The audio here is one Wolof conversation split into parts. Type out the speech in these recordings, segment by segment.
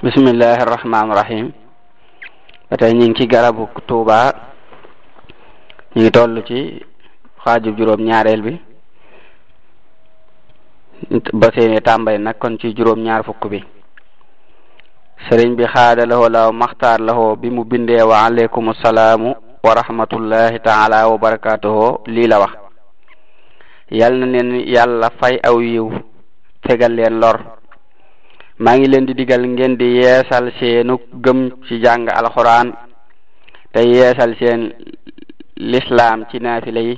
bismillahir rahmanir rahim. Batay ñi ngi ci garabu Tuuba, ñi ngi tollu ci xaaju juróom ñaareel bi ba seeni tàmbali nag kon ci juróom ñaar fukk bi. sëriñ bi xaada lahoo law maxtaar lahoo bi mu bindee wa aleykum salaamu wa rahmatullahi taala wa barakatuhu lii la wax: yal na leen yàlla fay aw yiw fegal leen lor. maa ngi leen di digal ngeen di yeesal seenu gëm ci jàng alxuraan te yeesal seen lislaam ci naafila yi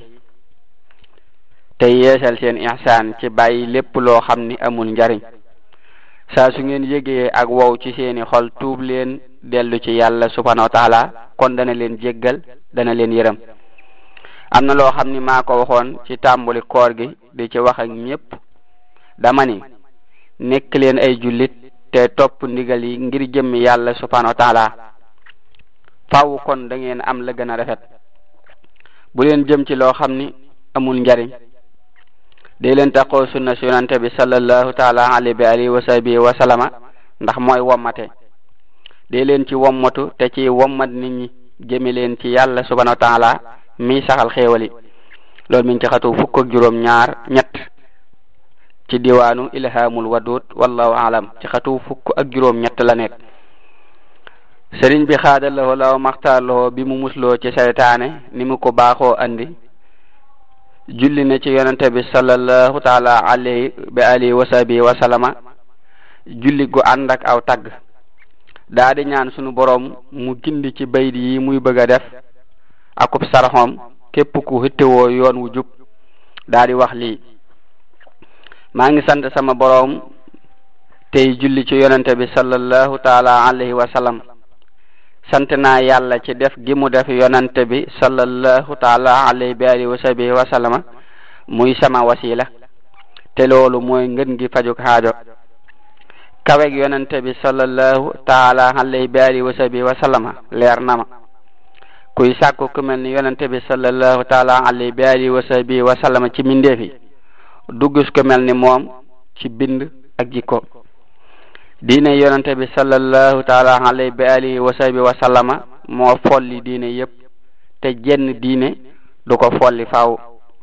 te yeesal seen ihsaan ci bàyyi lépp loo xam ni amul njariñ. saa su ngeen yëgee ak wow ci seeni xol tuub leen dellu ci yàlla subhanahu wa taala, kon dana leen jéggal, dana leen yërëm. am na loo xam ni maa ko waxoon ci tàmbali koor gi di ci wax ak ñépp. dama ni nekk leen ay jullit te topp ndigal yi ngir jëmmi yàlla subhanahu wa taala. faaw kon da ngeen am la gën a rafet. bu leen jëm ci loo xam ni amul njariñ. dee leen taqoo sunna si yonante bi sallallahu taala alayhi wa sahbihi wa sallama, ndax mooy wommate. dee leen ci wommatu te ci wommat nit ñi jëme leen ci yàlla subhanahu wa taala mi saxal xéewali. loolu mi ngi ci xatu fukk ak juróom ñett ci diwaanu ilhamul wadud, wallahu alam. ci xatu fukk ak juróom ñett la nekk. sëriñ bi xaada lahoo law maxtaar lahoo bi mu musloo ci saytaane ni mu ko baaxoo andi, julli ne ci yonente bi sallallahu taala alayhi wa sahbihi wa sallama julli gu ànd ak aw tagg. daa di ñaan sunu borom mu gindi ci baydi yi muy bëgg a def akub saraxoom képp ku hittewoo yoon wu jub. daa di wax lii: maa ngi sant sama borom tey julli ci yonente bi sallallahu taala alayhi wa sallam. sant naa yàlla ci def gi mu def yonente bi sallallahu taala alayhi wa sahbihi wa sallama muy sama wasila, te loolu mooy ngën gi fajuk haajo. kaweg yonente bi sallallahu taala alayhi wa sahbihi wa sallama leer na ma. kuy sàkku ku mel ni yonente bi sallallahu taala alayhi wa sahbihi wa sallama ci mindeefi du gis ku mel ni moom ci bind ak jikko. diine yonente bi sallallahu taala alayhi wa sahbihi wa sallama moo folli diine yépp, te jenn diine du ko folli faaw.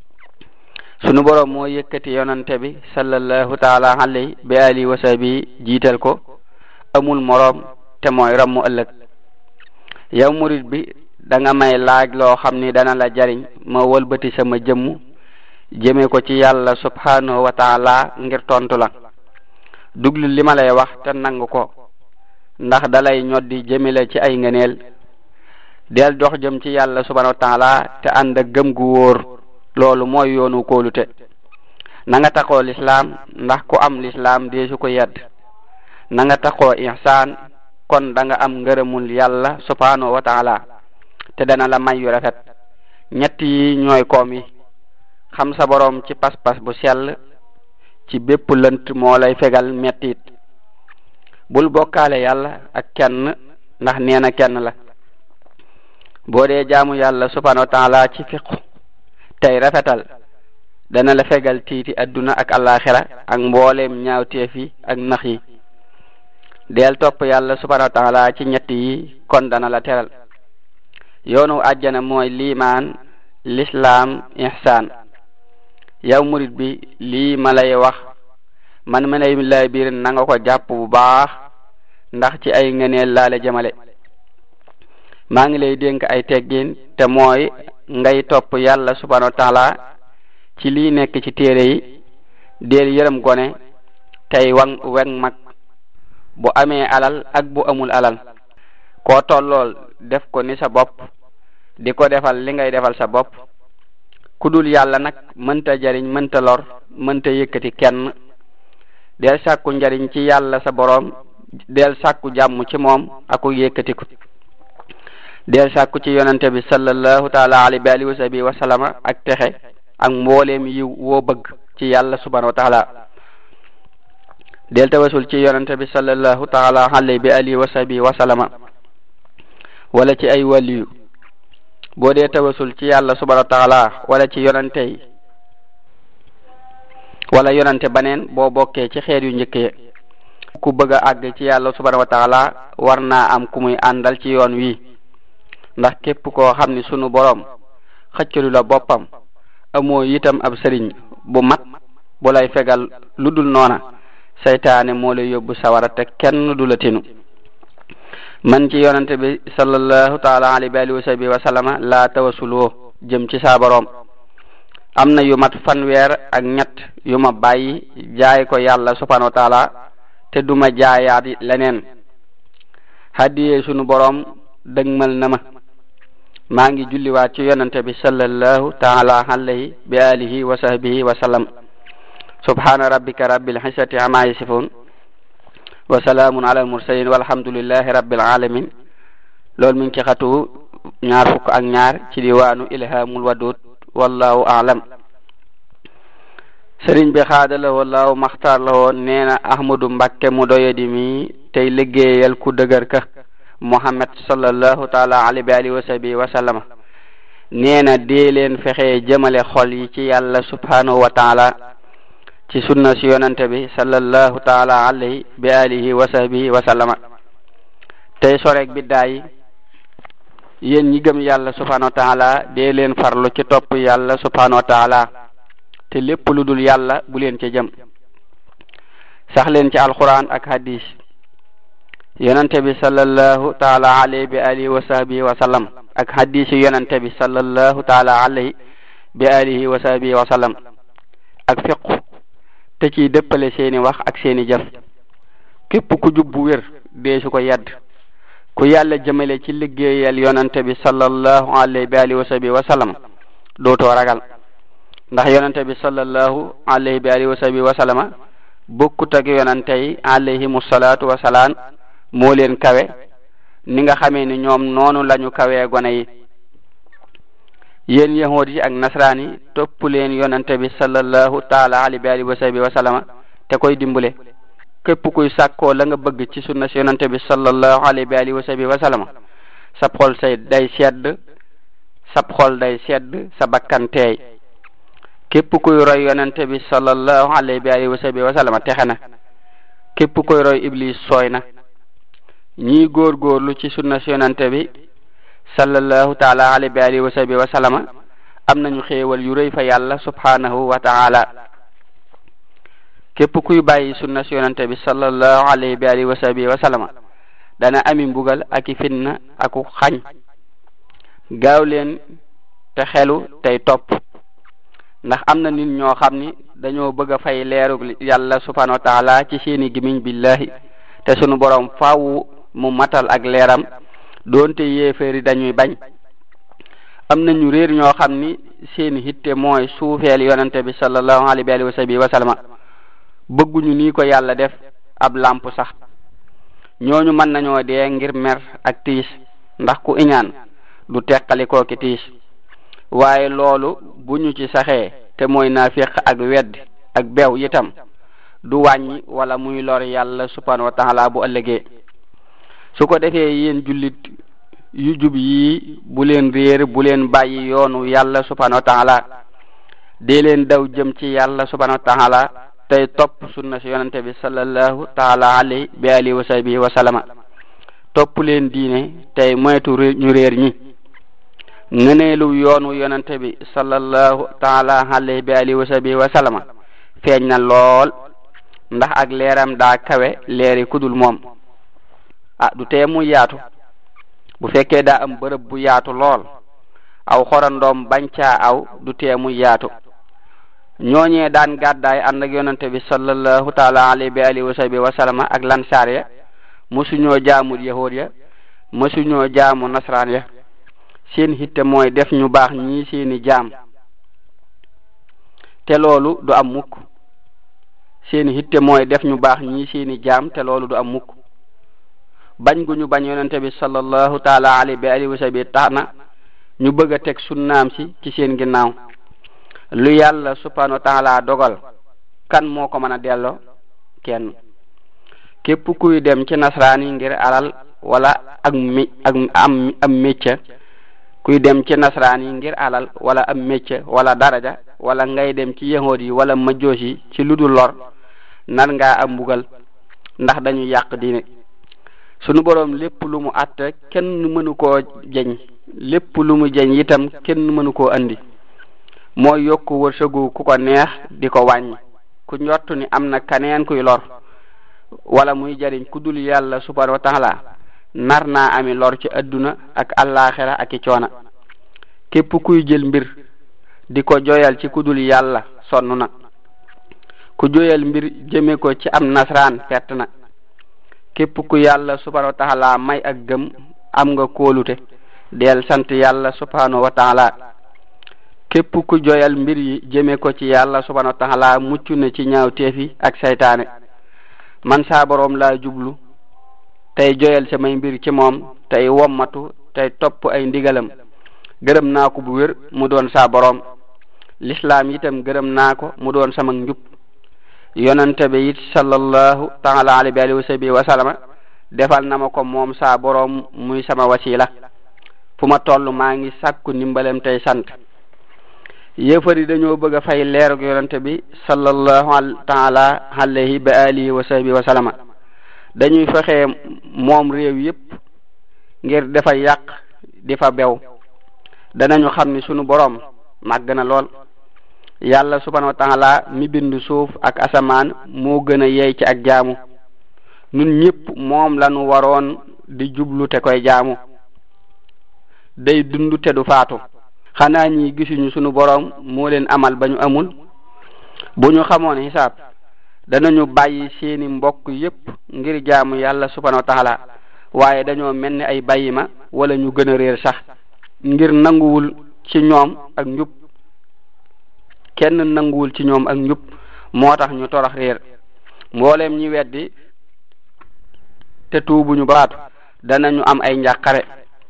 sunu boroom moo yëkkati yonente bi sallallahu taala alayhi wa sahbihi jiital ko, amul moroom, te mooy rammu ëllëg. yow murid bi da nga may laaj loo xam ni dana la jariñ, ma wëlbati sama jëmm jëme ko ci yàlla subhanahu wa taala ngir tontu la. duglu li ma lay wax te nangu ko, ndax dalay ñoddi jëmale ci ay ngëneel. del dox jëm ci yàlla subhanahu wa taala te ànd ak gëm gu wóor, loolu mooy yoonu kóolute. na nga taxoo lislaam, ndax ku am lislaam deesu ko yedd. na nga taxoo ihsaan, kon da nga am ngërëmul yàlla subhanahu wa taala te dana la may yu rafet. ñett yi ñooy koom yi: xam sa borom ci pas-pas bu sell, ci bépp lënt moo lay fegal mettit. bul bokkaale yàlla ak kenn, ndax nee na kenn la. boo dee jaamu yàlla subhanahu wa taala ci fiqu tey rafetal, dana la fegal tiiti adduna ak alaxira ak mbooleem ñaawteef yi ak nax yi. del topp yàlla subhanahu wa taala ci ñett yi, kon dana la teral. yoonu àjjana mooy liimaan, lislaam, ihsaan. yow murid bi lii ma lay wax man ma lay biir na nga ko jàpp bu baax, ndax ci ay ngëneel laa la jëmale. maa ngi lay dénk ay teggin, te mooy ngay topp yàlla subhanahu wa taala ci lii nekk ci téere yi. del yërëm gone tey weg mag, bu amee alal ak bu amul alal. koo tollool def ko ni sa bopp, di ko defal li ngay defal sa bopp. kudul yàlla nag mënta jariñ, mënta lor, mënta yëkkati kenn. del sàkku njariñ ci yàlla sa boroom, del sàkku jàmm ci moom aku yëkkatiku. del sàkku ci yonente bi sallallahu taala alayhi wa sahbihi wa sallama ak texe ak mbooleem yiw woo bëgg ci yàlla subhanahu wa taala. del tawasul ci yonente bi sallallahu taala alayhi wa sahbihi wa sallama wala ci ay waliyu. boo dee tawasul ci yàlla subhanahu wa taala wala ci yonente yi wala yonente baneen, boo bokkee ci xeet yu njëkk yi. ku bëgg a àgg ci yàlla subhanahu wa taala war naa am ku muy àndal ci yoon wi ndax képp koo xam ni sunu borom xëccalu la boppam amoo itam ab sëriñ bu mat bu lay fegal lu dul noona seytaane moo lay yóbbu sawara te kenn du la tinu man ci yonante bi sallallahu taala alayhi wa sahbihi wa sallama laa tawasuloo jëm ci saa borom am na yu mat fanweer ak ñett yu ma bàyyi jaay ko yàlla subhanahu wa taala te duma jaayaat leneen hadiyee sunu borom dëgmal na ma maa ngi julliwaat ci yonante bi sallallahu taala alayhi bi alihi wa sahbihi wa sallam subhana rabbika rabbil izzati amma yasifun wa salaamun ala al mursalin walhamdulillahi rabbil alamin loolu mi ngi ci xatu ñaar fukk ak ñaar ci diwaanu ilhamul wadud wallahu a'lam. sëriñ bi xaadala wallahu maxtaar la woon nee na ahmadu mbakke mu doyadi mi tey liggéeyal ku dëgër ka muhammad sallallahu taala alayhi wa sahbihi wa sallama nee na dee leen fexe jëmale xol yi ci yàlla subhanahu wa taala ci sunna si yonante bi sallallahu taala alayhi bi alihi wa sahbihi wa sallama tey sorek biddaa yi yéen ñi gëm yàlla subhanahu wa taala dee leen farlu ci topp yàlla subhanahu wa taala te lépp lu dul yàlla bu leen ci jëm sax leen ci alquran ak hadis yonante bi sallallahu taala alayhi bi alihi wa sahbihi wa sallam ak hadis yonante bi sallallahu taala alayhi bi alihi wa sahbihi wa sallam ak fiqh te ciy dëppale seeni wax ak seeni jëf képp ku jub bu wér dee su ko yedd ku yàlla jëmale ci liggéeyal yonante bi sallallahu alayhi bi alihi wa sahbihi wa sallam dootoo ragal ndax yonante bi sallallahu alayhi bi alihi wa sahbihi wa sallama bokkut ak yonante yi alayhimu salaatu wa salaam moo leen kawe ni nga xamee ni ñoom noonu lañu kawee gone yi yéen yahuud yi ak nasraan yi topp leen yonante bi sallallahu taala alayhi bi alihi wa sahbihi wa sallama te koy dimbale képp kuy sàkkoo la nga bëgg ci sunna si yonante bi sallallahu alayhi bi alihi wa sahbihi wa sallama sab xol day sedd sa bakkan teey képp kuy roy yonante bi sallallahu alayhi bi alihi wa sahbihi wa sallama texe na képp kuy roy iblis sooy na ñii góorgóorlu ci sunna si yonante bi sallallahu taala alayhi bi alihi wa sahbihi wa sallama am nañu xéewal yu rëy fa yàlla subhanahu wa taala képp kuy bàyyi sunna si yonante bi sallallahu alayhi bi alihi wa sahbihi wa sallama dana ami mbugal ak i fitna aku xañ gaaw leen te xelu tey topp ndax am na nit ñoo xam ni dañoo bëgg a fay leeru yàlla subhanahu wa taala ci seeni gimiñ billahi te sunu borom faaw mu matal ak leeram doonte yéeféeri dañuy bañ am na ñu réer ñoo xam ni seeni hitte mooy suufeel yonante bi sallallahu alayhi wa sahbihi wa sallama bëgguñu nii ko yàlla def ab lamp sax ñooñu mën nañoo dee ngir mer ak tiis ndax ku iñaan du teqali kooki tiis waaye loolu bu ñu ci saxee te mooy naafiq ak wedd ak bew itam du wàññi wala muy lor yàlla subhanahu wa taala bu ëllëgee su ko defee yéen jullit yu jub yi bu leen réer bu leen bàyyi yoonu yàlla subhanahu wa taala dee leen daw jëm ci yàlla subhanahu wa taala tey topp sunna si yonante bi sallallahu taala alayhi bi alihi wa sahbihi wa sallama topp leen diine tey moytu ñu réer ñi ngëneelu yoonu yonante bi sallallahu taala alayhi bi alihi wa sahbihi wa sallama feeñ na lool ndax ak leeram daa kawe leeri kudul moom du tee mu yaatu bu fekkee daa am bërëb bu yaatu lool aw xorandoom bañ caa aw du tee mu yaatu ñooñee daan gàddaay ànd ak yonante bi sallallahu taala alayhi bi alihi wa sahbihi wa sallama ak lansaar ya mosuñoo jaamu yahuud ya mosuñoo jaamu nasraan ya seen hitte mooy def ñu baax ñii seeni jaam te loolu du am mukk seeni hitte mooy def ñu baax ñii seeni jaam te loolu du am mukk bañ gu ñu bañ yonente bi sallallahu taala alayhi bi alihi wa sahbihi tax na ñu bëgg a teg sunnaam si ci seen ginnaaw lu yàlla subhanahu wa taala dogal kan moo ko mën a delloo kenn képp kuy dem ci nasraan yi ngir alal wala am métier kuy dem ci nasraan yi ngir alal wala am métier wala daraja wala ngay dem ci yahuud yi wala majjoos yi ci lu dul lor nar ngaa am mbugal ndax dañu yàq diine. sunu boroom lépp lu mu àtte kenn mënu koo jeñ, lépp lu mu jeñ itam kenn mënu koo andi. mooy yokku wërsëgu ku ko neex di ko wàññi. ku njott ni am na kaneen kuy lor wala muy jariñ ku dul yàlla subhanahu wa taala nar naa ami lor ci adduna ak allaaxira ak i coona. képp kuy jël mbir di ko joyal ci ku dul yàlla sonn na. ku joyal mbir jëme ko ci am nasraan perte na. képp ku yàlla subhanahu wa taala may ak gëm am nga kóolute del sant yàlla subhanahu wa taala. képp ku joyal mbir yi jëme ko ci yàlla subhanahu wa taala mucc na ci ñaaw teefi ak saytaane. man saa boroom laa jublu tey joyal samay mbir ci moom tey wommatu tey topp ay ndigalam. gërëm naa ko bu wér mu doon saa boroom. lislaam itam gërëm naa ko mu doon sama njub. yonante bi it sallallahu taala alayhi wa sallam defal na ma ko moom saa boroom muy sama wasila. fu ma toll maa ngi sàkku ndimbalem tey sant. yéefar yi dañoo bëgg a fay leerug yonante bi sallallahu taala alayhi wa alihi wa sahbihi wa sallama. dañuy fexe moom réew yépp ngir dafa yàq di fa bew. danañu xam ni sunu boroom màgg na lool. yàlla subhanahu wa taala mi bind suuf ak asamaan moo gën a yey ci ak jaamu. ñun ñépp moom lañu waroon di jublu te koy jaamu. day dund te du faatu. xanaa ñi gisuñu sunu boroom moo leen amal ba ñu amul. bu ñu xamoon xisaab danañu bàyyi seeni mbokk yépp ngir jaamu yàlla subhanahu wa taala. waaye dañoo mel ni ay bàyyima wala ñu gën a réer sax ngir nanguwul ci ñoom ak njub. kenn nanguwul ci ñoom ak njub moo tax ñu torox réer. mbooleem ñi weddi te tuubuñu baatu danañu am ay njàqare.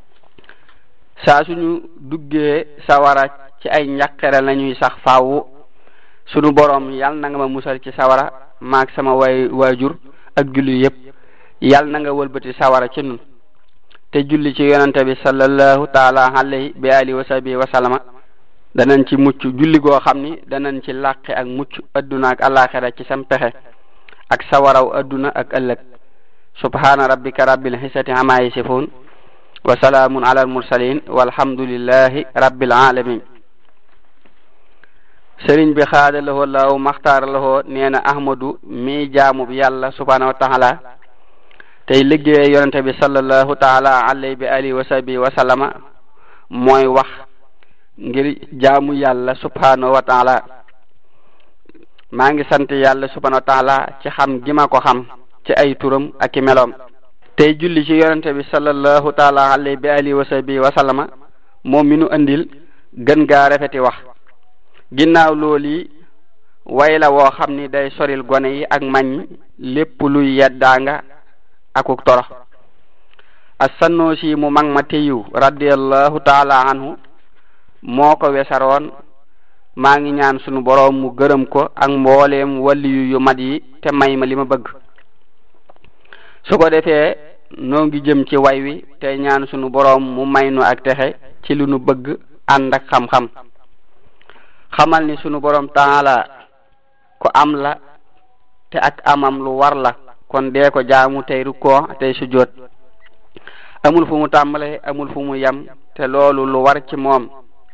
saa suñu duggee sawara ci ay njàqare lañuy sax faawu. sunu boroom yal na nga ma musal ci sawara maag sama waajur ak julli yépp. yal na nga wëlbati sawara ci nun te julli ci yonante bi sallallahu taala alayhi bi alihi wa sahbihi wa sallama. danañ ci mucc julli goo xam ni danañ ci làqe ak mucc adduna ak alaxira ci sam pexe ak sawaraw adduna ak ëllëg. subhana rabbika rabbil izzati amma yasifun wa salaamun ala al mursalin walhamdulillahi rabbil alamin. sëriñ bi xaada lahoo law maxtaar lahoo nee na ahmadu mi jaamu bi yàlla subhanahu wa taala tey liggéey yonente bi sallallahu taala alayhi bi alihi wa sahbihi wa sallama mooy wax ngir jaamu yàlla subhanahu wa taala. maa ngi sant yàlla subhanahu wa taala ci xam gi ma ko xam ci ay turam ak i meloom. tey julli ci yonente bi sallallahu taala alayhi bi alihi wa sahbihi wa sallama moom mi nu andil gën gaa rafeti wax. ginnaaw loolu way la woo xam ni day soril gone yi ak mañ lépp luy yeddaanga akuk torox. as-Sanusi mu mag ma teyu radiyallahu taala anhu moo ko wesaroon. maa ngi ñaan sunu boroom mu gërëm ko ak mbooleem waliyu yu mat yi te may ma li ma bëgg. su ko defee noo ngi jëm ci way wi te ñaan sunu boroom mu may nu ak texe ci lu nu bëgg ànd ak xam-xam. xamal ni sunu boroom taala ko am la te ak amam lu war la kon dee ko jaamu tey rukkoo tey sujjóot. amul fu mu tàmbale amul fu mu yem te loolu lu war ci moom.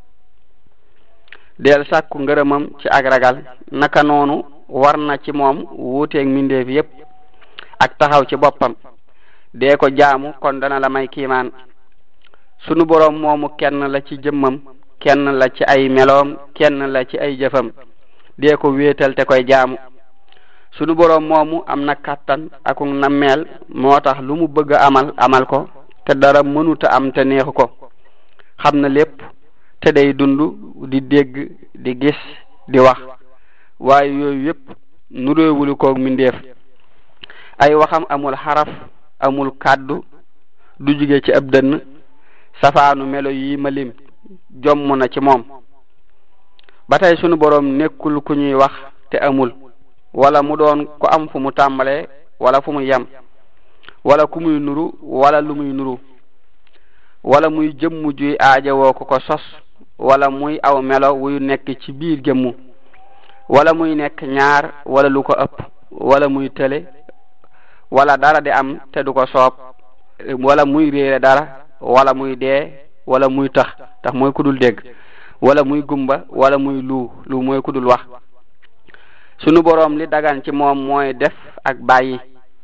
del sàkku ngërëmam ci ak ragal naka noonu war na ci moom wuuteeg mbindeef yépp ak taxaw ci boppam. dee ko jaamu kon dana la may kiimaan. sunu boroom moomu kenn la ci jëmmam kenn la ci ay meloom kenn la ci ay jëfam. dee ko wéetal te koy jaamu. sunu boroom moomu am na kàttan ak nammeel moo tax lu mu bëgg a amal ko te dara mënuta am te neexu ko. xam na lépp te day dund di dégg di gis di wax waaye yooyu yépp nu réewulu koog mindeef. ay waxam amul xaraf amul kàddu du jóge ci ab dënn. safaanu melo yi ma lim jomm na ci moom. ba tey sunu boroom nekkul ku ñuy wax te amul wala mu doon ko am fu mu tàmbalee wala fu mu yem wala ku muy nuru wala lu muy nuru wala muy jëmm juy aajowoo ko sos wala muy aw melo wuy nekk ci biir jëmmu wala muy nekk ñaar wala lu ko ëpp wala muy tële wala dara di am te du ko soob wala muy réere dara wala muy dee wala muy tax mooy kudul dégg wala muy gumba wala muy lu mooy kudul wax. sunu boroom li dagan ci moom mooy def ak bàyyi.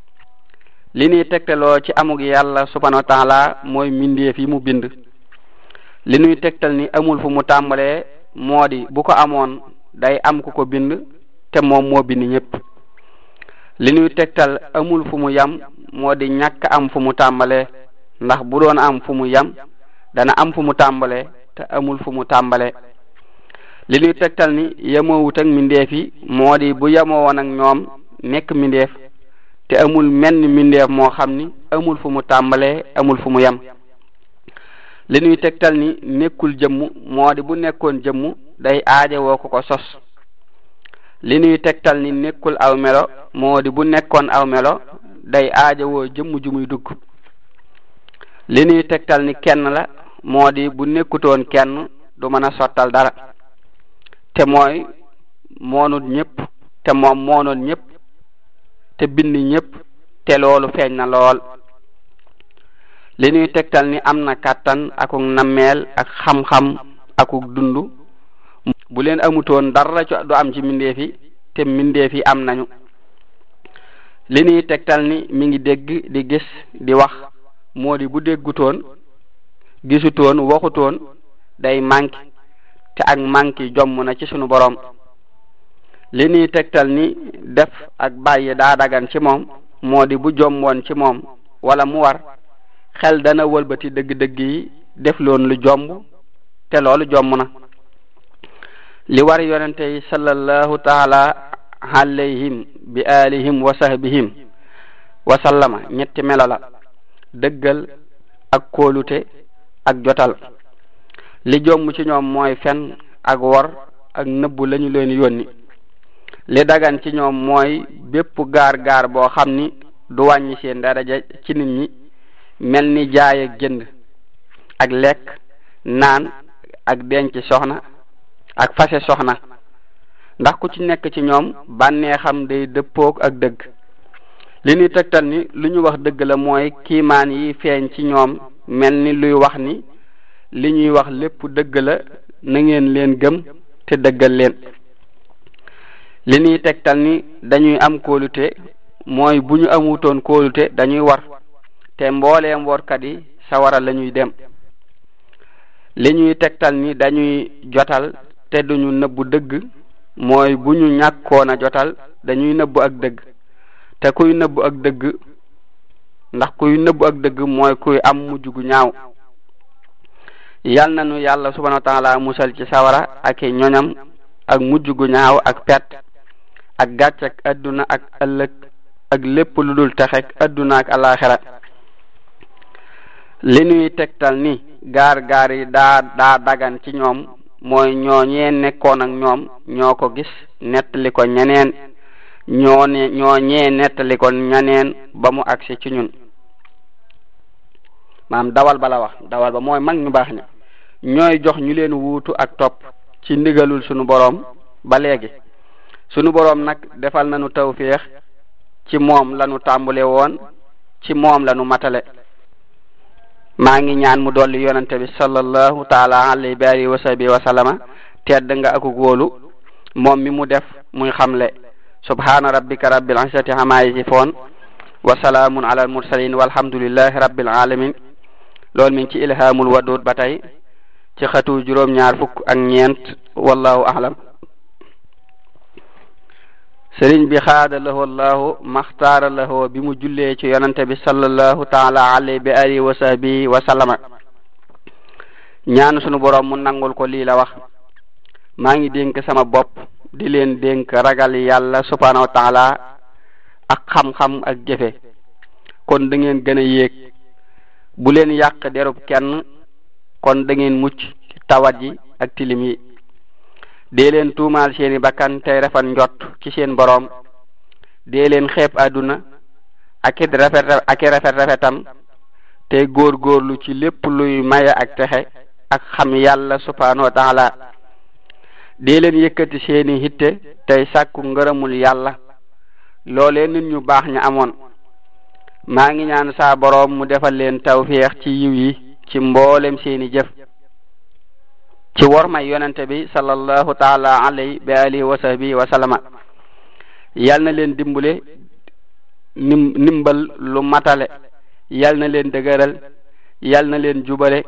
li ñuy tegtaloo ci amug yàlla subhanahu wa taala mooy mbindeef yi mu bind. li ñuy tegtal ni amul fu mu tàmbalee moo di bu ko amoon day am ku ko bind te moom moo bind ñépp. li ñuy tegtal amul fu mu yam moo di ñàkk am fu mu tàmbalee ndax bu doon am fu mu yam dana am fu mu tàmbalee te amul fu mu tàmbalee. li ñuy tegtal ni yemoowut ak mbindeef yi moo di bu yemoo woon ak ñoom nekk mbindeef te amul menn mbindeef moo xam ni amul fu mu tàmbalee amul fu mu yam. li ñuy tegtal ni nekkul jëmm moo di bu nekkoon jëmm day aajowoo ko sos. li ñuy tegtal ni nekkul aw melo moo di bu nekkoon aw melo day aajowoo jëmm ju muy dugg. li ñuy tegtal ni kenn la moo di bu nekkutoon kenn du mën a sottal dara te mooy moonut ñëpp te moom moonoon ñëpp te bind ñëpp te loolu feeñ na lool. li ñuy tegtal ni am na kàttan akuk nammeel ak xam-xam akuk dund bu leen amutoon dara du am ci mbindeef yi te mbindeef yi am nañu. li ñuy tegtal ni mi ngi dégg di gis di wax moo di bu déggutoon gisutoon waxutoon day manqué te ak manqué jomm na ci sunu boroom. li ñuy tegtal ni def ak bàyyi daa dagan ci moom moo di bu jommoon ci moom wala mu war xel dana wëlbati dëgg-dëgg yi def loon lu jomb te loolu jomm na. li war yonente yi sallallahu taala alayhim bi alihim wa sahbihim wa sallama ñetti melo la: dëggal ak kóolute ak jotal. li jomm ci ñoom mooy fen ak wor ak nëbbu lañu leen yónni. li dagan ci ñoom mooy bépp gaar boo xam ni du wàññi seen daraja ci nit ñi mel ni jaay ak jënd ak lekk naan ak denc soxna ak fase soxna ndax ku ci nekk ci ñoom bànneexam day dëppook ak dëgg. li ñuy tegtal ni lu ñu wax dëgg la mooy kiimaan yi feeñ ci ñoom mel ni luy wax ni li ñuy wax lépp dëgg la na ngeen leen gëm te dëggal leen. li ñuy tegtal ni dañuy am kóolute mooy bu ñu amutoon kóolute dañuy war te mbooleem workat yi sawara lañuy dem. li ñuy tegtal ni dañuy jotal te duñu nëbbu dëgg mooy bu ñu ñàkkoon a jotal dañuy nëbbu ak dëgg te kuy nëbbu ak dëgg ndax kuy nëbbu ak dëgg mooy kuy am mujj gu ñaaw. yal nañu yàlla subhanahu wa taala musal ci sawara ak ñoñam ak mujj gu ñaaw ak pet ak gàcc ak adduna ak ëllëg ak lépp lu dul texek adduna ak alaxira. li ñuy tegtal ni gaar yi daa dagan ci ñoom mooy ñooñee nekkoon ak ñoom ñoo ko gis nettali ko ñeneen ñooñee nettali ko ñeneen ba mu agsi ci ñun. maam dawal ba la wax dawal ba mooy mag ñu baax ña ñooy jox ñu leen wuutu ak topp ci ndigalul sunu boroom ba léegi. sunu boroom nag defal nañu tawféex ci moom lañu tàmbale woon ci moom lañu matale. maa ngi ñaan mu dolli yonante bi sallallahu taala alayhi wa sahbihi wa sallama tedd nga ak wóolu moom mi mu def muy xamle. subhana rabbika rabbil izzati amma yasifun wa salaamun ala al mursalin walhamdulillahi rabbil alamin. loolu mi ngi ci ilhamul wadud ba tey ci xatu juróom-ñaar fukk ak ñeent wallahu a'lam. sëriñ bi xaada lahu allahu maxtaara lahu bi mu jullee ci yonante bi sallallahu taala alayhi wa sahbihi wa sallama ñaan sunu boroom mu nangul ko lii la wax: maa ngi dénk sama bopp di leen dénk ragal yàlla subhanahu wa taala ak xam-xam ak jëfe kon da ngeen gën a yéeg. bu leen yàq derub kenn kon da ngeen mucc ci tawat yi ak tilim yi. dee leen tuumaal seeni bakkan tey rafet njot ci seen boroom. dee leen xeeb àdduna ak rafetam tey góorgóorlu ci lépp luy maye ak texe ak xam yàlla subhanahu wa taala. dee leen yëkkati seeni hitte tey sàkku ngërëmul yàlla loolee nit ñu baax ña amoon. maa ngi ñaan saa boroom mu defal leen tawfiix ci yiw yi ci mboolem seeni jëf ci wormay yonente bi sallallahu taala alayhi bi alihi wa sahbihi wa sallama. yal na leen dimbule nimbal lu matale, yal na leen dëgëral, yal na leen jubale,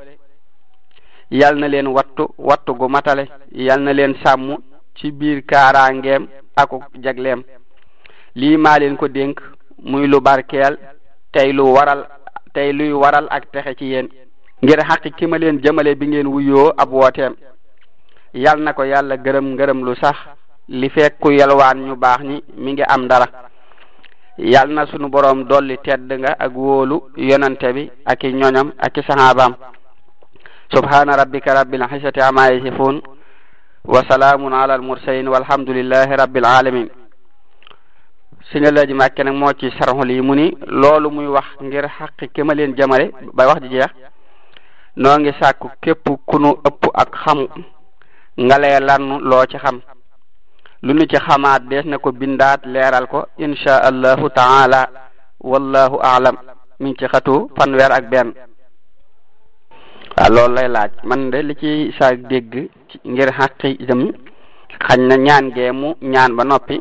yal na leen wattu gu matale, yal na leen sàmm ci biir kaaraangeem aku jagleem. lii maa leen ko dénk muy lu barkeel tey luy waral ak texe ci yéen, ngir xaqi ki ma leen jëmale bi ngeen wuyoo ab wooteem. yal na ko yàlla gërëm lu sax li fekk ku yalwaan ñu baax ñi mi ngi am dara. yal na sunu boroom dolli tedd nga ak wóolu yonante bi ak i ñoñam ak i sahabaam. subhana rabbika rabbil izzati amma yasifun wa salaamun ala al mursalin walhamdulillahi rabbil alamin. Sëñ Alaaji Mbàkke nag moo ci sarxul yi mu ni loolu muy wax ngir xaqi ki ma leen jamale ba wax ji jeex noo ngi sàkku képp ku nu ëpp ak xam nga leeral loo ci xam, lu nu ci xamaat dees na ko bindaat leeral ko insha allahu taala wallahu aalam. mi ngi ci xatu fanweer ak benn. waaw loolu lay laaj. man de li ci sa dégg ngir xaqi jëm xañ na ñaan gee mu ñaan ba noppi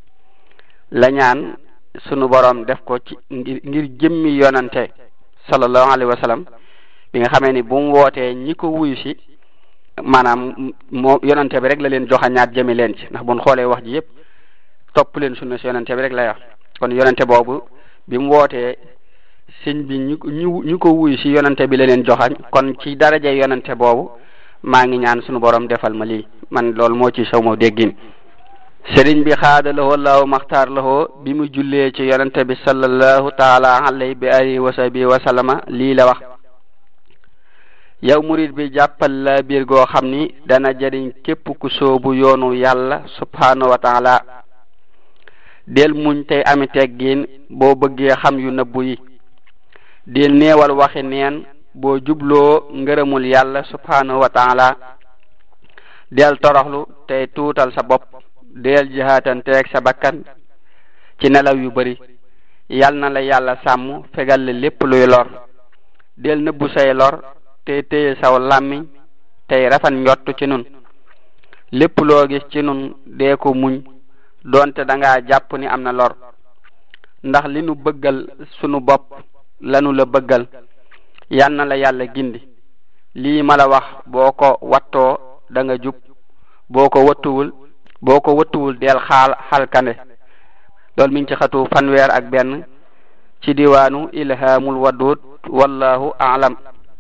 la ñaan sunu borom def ko ci ngir jëmmi yonante sallallahu alayhi wa sallam bi nga xamee ni bu mu wootee ñi ko wuyu si maanaam moo yonante bi rek la leen joxañaat jëmi leen ci, ndax buñ xoolee wax ji yëpp topp leen sunna si yonante bi rek lay wax. kon yonante boobu bi mu wootee sëñ bi ñu ko wuyu si yonante bi la leen joxañ, kon ci daraje yonante boobu maa ngi ñaan sunu borom defal ma lii. man loolu moo ci saw ma déggin. sëriñ bi xaada lahoo laahu maxtaar lahoo bi mu jullee ci yonente bi sallallahu taala alayhi bi alihi wa sahbihi wa sallama lii la wax: yow murid bi jàppal la biir goo xam ni dana jëriñ képp ku soobu yoonu yàlla subhanahu wa taala. del muñ tey ami teggin boo bëggee xam yu nëbbu yi, del neewal waxi neen boo jubloo ngërëmul yàlla subhanahu wa taala. del toroxlu tey tuutal sa bopp, del jihaatanteeg sa bakkan ci nelaw yu bari. yal na la yàlla sàmm fegal la lépp luy lor. del nëbbu say lor tey téye saw làmmiñ tey rafet njott ci nun. lépp loo gis ci nun dee ko muñ doonte dangaa jàpp ni am na lor, ndax li nu bëggal sunu bopp lanu la bëggal. yal na la yàlla gindi. lii ma la wax boo ko wattoo da nga jub, boo ko wattuwul del xalkande. loolu mi ngi ci xatu fanweer ak benn ci diwaanu ilhamul wadud wallahu aalam.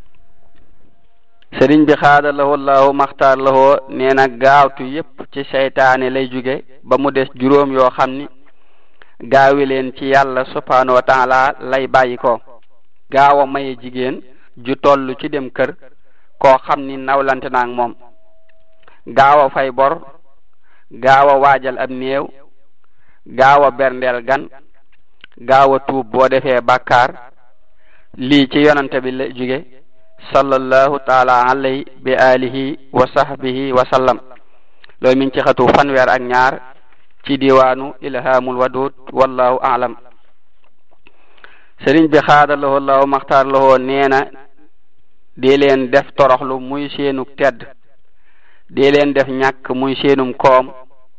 sëriñ bi xaada lahoo allahu maxtaar lahoo nee na gaawtu yépp ci seytaane lay jóge ba mu des juróom yoo xam ni gaawi leen ci yàlla subhanahu wa taala lay bàyyi ko. gaaw a maye jigéen ju toll ci dem kër koo xam ni nawlante naag moom, gaaw a fay bor, gaaw a waajal ab néew, gaaw a berndeel gan, gaaw a tuub boo defee bàkkaar. lii ci yonante bi la jóge sallallahu taala alayhi bi alihi wa sahbihi wa sallam. loolu mi ngi ci xatu fanweer ak ñaar ci diwaanu ilhamul wadud wallahu aalam. sëriñ bi xaada lahoo allahu maxtaar lahoo nee na dee leen def toroxlu muy seenu tedd, dee leen def ñàkk muy seenum koom,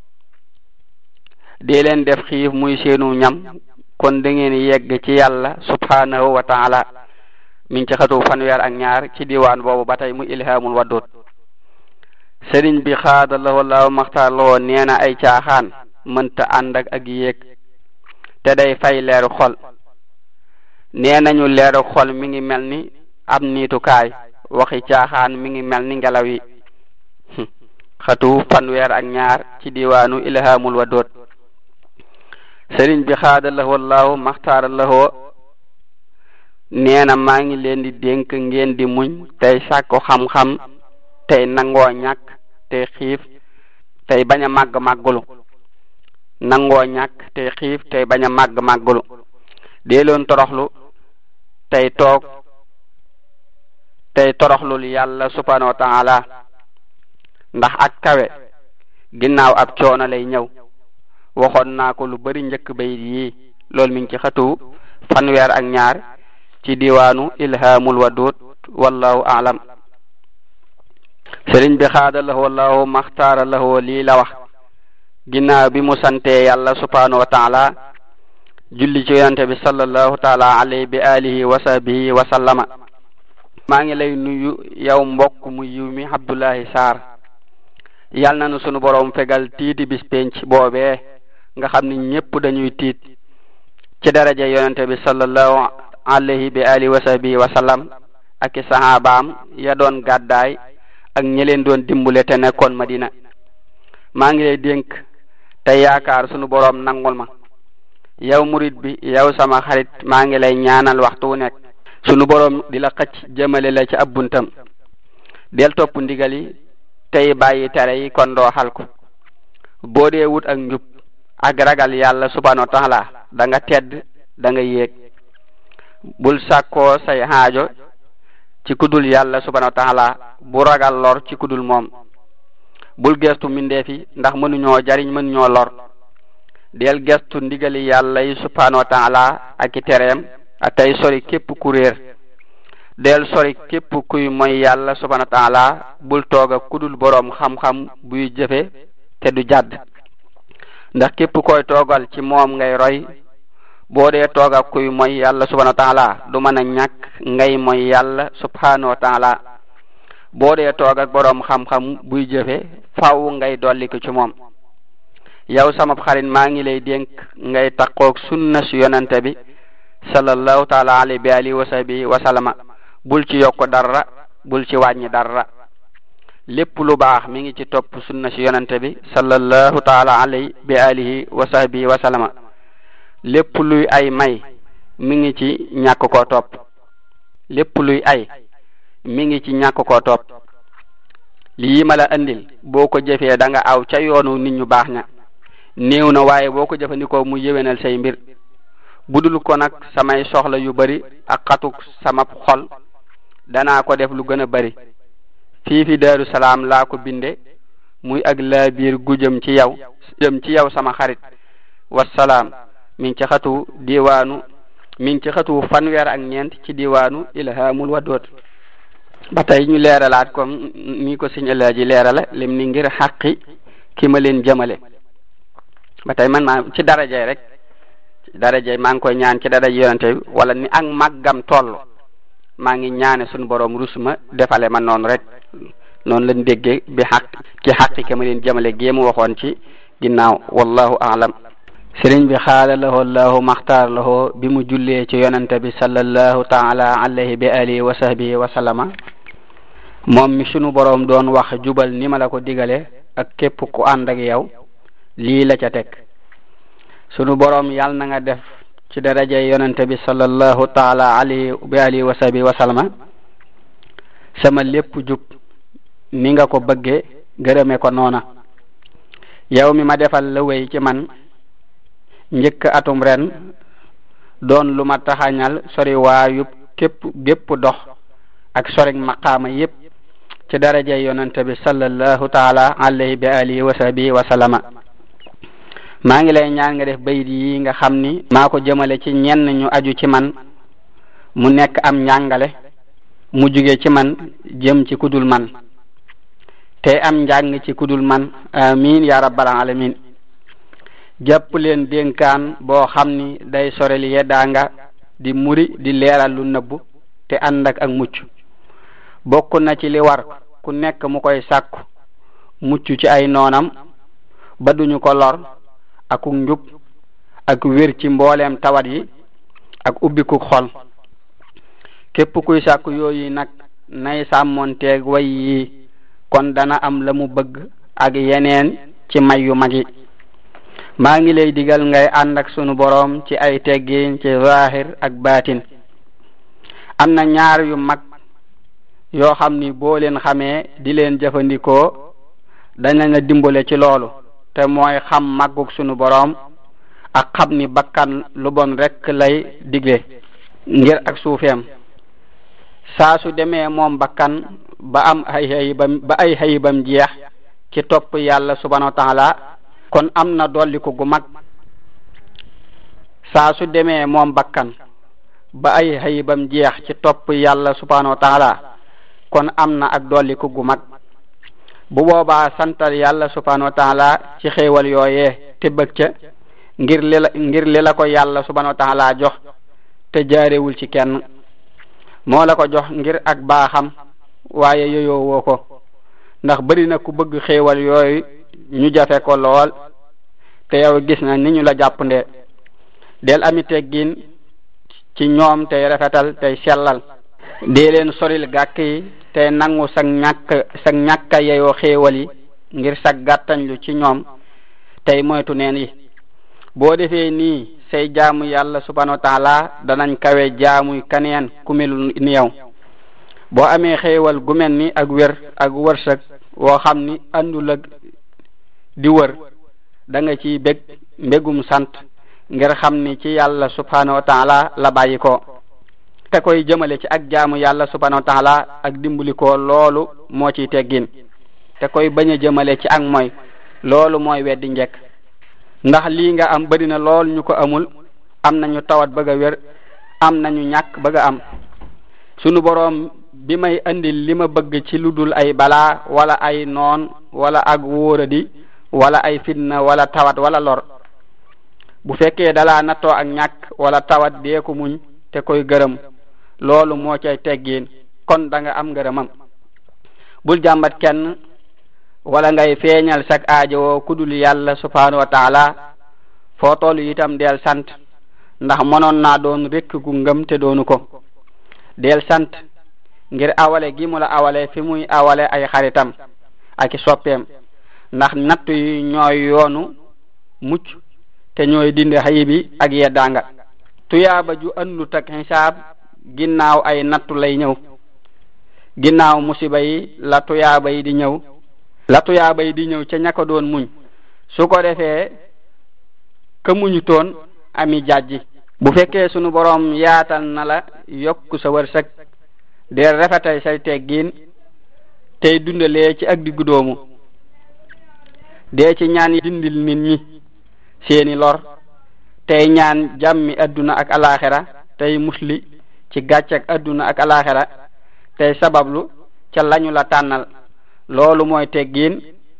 dee leen def xiif muy seenu ñam, kon da ngeen yegg ci yàlla subhanahu wa taala. mi ngi ci xatu fanweer ak ñaar ci diwaan boobu ba tey mu ilhamul wadud. sëriñ bi xaada lahoo allahu maxtaar lahoo nee na ay caaxaan mënta ànd ak yéeg te day fay leeru xol. nee nañu leeru xol mi ngi mel ni ab niitukaay, waxi caaxaan mi ngi mel ni ngelaw yi. xatu fanweer ak ñaar ci diwaanu ilhamul wadud. sëriñ bi xaada lahoo allahu maxtaar lahoo nee na maa ngi leen di dénk ngeen di muñ tey sàkku xam-xam tey nangoo ñàkk tey xiif tey bañ a màggulu. nangoo ñàkk tey xiif tey bañ a màggulu. dee leen toroxlu tey toog tey toroxlul yàlla subhanahu wa taala, ndax ak kawe ginnaaw ab coono lay ñëw. waxoon naa ko lu bari njëkk bayit yi. loolu mi ngi ci xatu fanweer ak ñaar ci diwaanu ilhamul wadud wallahu a'lam. sëriñ bi xaada lahu wallahu maxtaara lahu lii la wax ginnaaw bi mu sante yàlla subhanahu wa taala julli ci yonente bi sallallahu taala alayhi bi alihi wa sahbihi wa sallama. maa ngi lay nuyu yow mbokk mu yiw mi Abdullahi Sarr. yal na nu sunu borom fegal tiiti bis penc boobee nga xam ni ñépp dañuy tiit ci daraja yonente bi sallallahu alayhi bi alihi wa sahbihi wa sallam ak i sahabaam ya doon gàddaay ak ñi leen doon dimbule te nekkoon Madina. maa ngi lay dénk te yaakaar sunu borom nangul ma yow murid bi yow sama xarit maa ngi lay ñaanal waxtu wu nekk sunu borom di la xëcc jëmale la ci ab buntam. del topp ndigal yi tey bàyyi tere yi kon doo xalku. boo dee wut ak njub ak ragal yàlla subhanahu wa taala da nga tedd da nga yéeg. bul sàkkoo say xaajo ci kudul yàlla subhanahu wa taala bu ragal lor ci kudul moom. bul gestu mindeefi ndax mënuñoo jariñ mënuñoo lor. del gestu ndigali yàlla yi subhanahu wa taala ak i tereem tey sori képp ku réer. del sori képp kuy mooy yàlla subhanahu wa taala bul toog ak kudul boroom xam-xam buy jëfe te du jàdd ndax képp koy toogal ci moom ngay roy. boo dee toog ak kuy mooy yàlla subhanahu wa taala du mën a ñàkk ngay mooy yàlla subhanahu wa taala. boo dee toog ak boroom xam-xam buy jëfe faaw ngay dolli ko ci moom. yow sama xarit maa ngi lay dénk ngay taqoog sunna su yonante bi sallallahu taala alayhi bi alihi wa sahbihi wa sallama. bul ci yokk dara bul ci wàññi dara. lépp lu baax mi ngi ci topp sunna si yonante bi sallallahu taala alayhi bi alihi wa sahbihi wa sallama. lépp luy ay may mi ngi ci ñàkk koo topp. lépp luy ay mi ngi ci ñàkk koo topp. lii ma la andil boo ko jëfee da nga aw ca yoonu nit ñu baax ña. néew na waaye boo ko jëfandikoo mu yéwénal say mbir. budul ko nag samay soxla yu bari ak xatuk sama xol danaa ko def lu gën a bari. fii fi Daaru Salaam laa ko binde muy ak laa biir gu jëm ci yow sama xarit. wassalaam mi ngi ci xatu fanweer ak ñeent ci diwaanu ilhamul wadud. ba tey ñu leeralaat comme ni ko Sëñ Alaaji leerala lim ni ngir xaqi ki ma leen jëmale. ba tey man maa ci darajay rek darajay maa ngi koy ñaan ci daraj yonente bi wala ni ak màggam toll maa ngi ñaane suñu borom rus ma defale ma noonu rek noonu lañ déggee bi xaq ci xaqi ki ma leen jëmale géemu waxoon ci ginnaaw wallahu a'lam. sëriñ bi xaala lahoo allahu maxtaar lahoo bi mu jullee ci yonente bi sallallahu taala alayhi bi alihi wa sahbihi wa sallama moom mi sunu boroom doon wax jubal ni ma la ko digale ak képp ku ànd ak yow lii la ca teg. sunu boroom yàlla na nga def ci daraja yonente bi sallallahu taala alayhi bi alihi wa sahbihi wa sallama sama lépp jub ni nga ko bëgge gërëme ko noona. yow mi ma defal la wéy ci man njëkk atum ren doon lu ma taxañal sori waayub gépp dox ak sori maqaama yépp ci daraja yonente bi sallallahu taala alayhi bi alihi wa sahbihi wa sallama. maa ngi lay ñaan nga def bayit yi nga xam ni maa ko jëmale ci ñenn ñu aju ci man mu nekk am njàngale mu jóge ci man jëm ci kudul man te am njàng ci kudul man amin ya rabbal alamin. jàpp leen dénkaan boo xam ni day sorel yeddaanga di muri di leeral lu nëbbu te ànd ak mucc. bokk na ci li war ku nekk mu koy sàkku mucc ci ay noonam ba duñu ko lor ak njub ak wér ci mbooleem tawat yi ak ubbiku xol. képp kuy sàkku yooyu nag nay sàmmonteeg way yi kon dana am la mu bëgg ak yeneen ci may yu mag yi. maa ngi lay digal ngay ànd ak sunu boroom ci ay teggin ci zahir ak baatin. am na ñaar yu mag yoo xam ni boo leen xamee di leen jëfandikoo dana la dimbale ci loolu te mooy xam màggug sunu boroom ak xam ni bakkan lu bon rekk lay digle ngir ak suufeem. saa su demee moom bakkan ba am ay xayibam jeex ci topp yàlla subhanahu wa taala kon am na dolliku gu mag. saa su demee moom bakkan ba ay xayibam jeex ci topp yàlla subhanahu wa taala kon am na ak dolliku gu mag bu boobaa santal yàlla subhanahu wa taala ci xéewal yooyee te bëgg ca ngir li la ko yàlla subhanahu wa taala jox te jaarewul ci kenn moo la ko jox ngir ak baaxam waaye yoyoo woo ko ndax bari na ku bëgg xéewal yooyu ñu jafe ko lool te yow gis na ni ñu la jàppandee del ami teggin ci ñoom tey rafetal tey sellal dee leen soril gàkk yi tey nangu sag ñàkka yeyoo xéewal yi ngir sag gàttañlu ci ñoom tey moytu neen yi boo defee nii say jaamu yàlla subhanahu wa taala danañ kawe jaamuy kaneen ku melu ni yow boo amee xéewal gu mel ni ak wér ak wërsëg woo xam ni àndul ak di wër da nga ciy bég mbégum sant ngir xam ni ci yàlla subhanahu wa taala la bàyyi ko te koy jëmale ci ak jaamu yàlla subhanahu wa taala ak dimbali ko loolu moo ciy teggin te koy bañ a jëmale ci ak mooy loolu mooy weddi njekk ndax lii nga am bari na lool ñu ko amul am nañu tawat bëgg a wér am nañu ñàkk bëgg a am sunu boroom bi may andil li ma bëgg ci lu dul ay balaa wala ay noon wala ak wóoradi wala ay fitna wala tawat wala lor bu fekkee dalaa nattoo ak ñàkk wala tawat dee ko muñ te koy gërëm loolu moo cay teggiin kon da nga am ngërëmam bul jàmbat kenn wala ngay feeñal sak aajowoo kudul yàlla subhanahu wa taala foo toll itam del sant ndax mënoon naa doon rekk gu ngëm te doonu ko del sant ngir awale gi mu la awale fi muy awale ay xaritam ak soppeem ndax nattu yi ñooy yoonu mucc te ñooy dindi xayibi ak yeddaanga tuyaaba ju andut ak xisaab ginnaaw ay nattu lay ñëw ginnaaw musiba yi la tuyaaba yi di ñëw ca ña ko doon muñ su ko defee ka muñu toon ami jàjji bu fekkee sunu boroom yaatal na la yokku sa wërsëg de rafetay say teggiin tey dundalee ci ak diggu doomu dee ci ñaan dindil nit ñi seeni lor tey ñaan jàmmi adduna ak alaxira tey musli ci gàcce ak adduna ak alaxira tey sabablu ca lañu la tànnal loolu mooy teggiin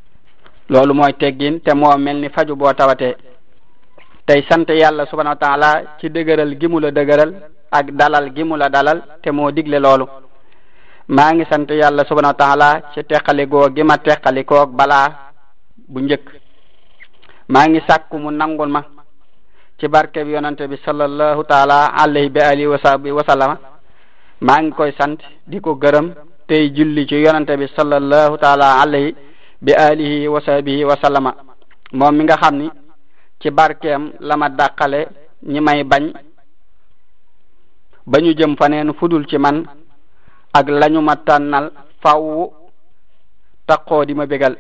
te moo mel ni faju boo tawatee tey sant yàlla subhanahu wa taala ci dëgëral gi mu la dëgëral ak dalal gi mu la dalal te moo digle loolu maa ngi sant yàlla subhanahu wa taala ci teqalikoo gi ma teqalikoog balaa bu njëkk maa ngi sàkku mu nangul ma ci barke bi yonante bi sallallahu taala alayhi bi alihi wa sahbihi wa sallama maa ngi koy sant di ko gërëm tey julli ci yonante bi sallallahu taala alayhi bi alihi wa sahbihi wa sallama moom mi nga xam ni ci barkeem la ma dàqale ñi may bañ ba ñu jëm faneen fudul ci man ak lañu ma tànnal faw taqoo di ma bégal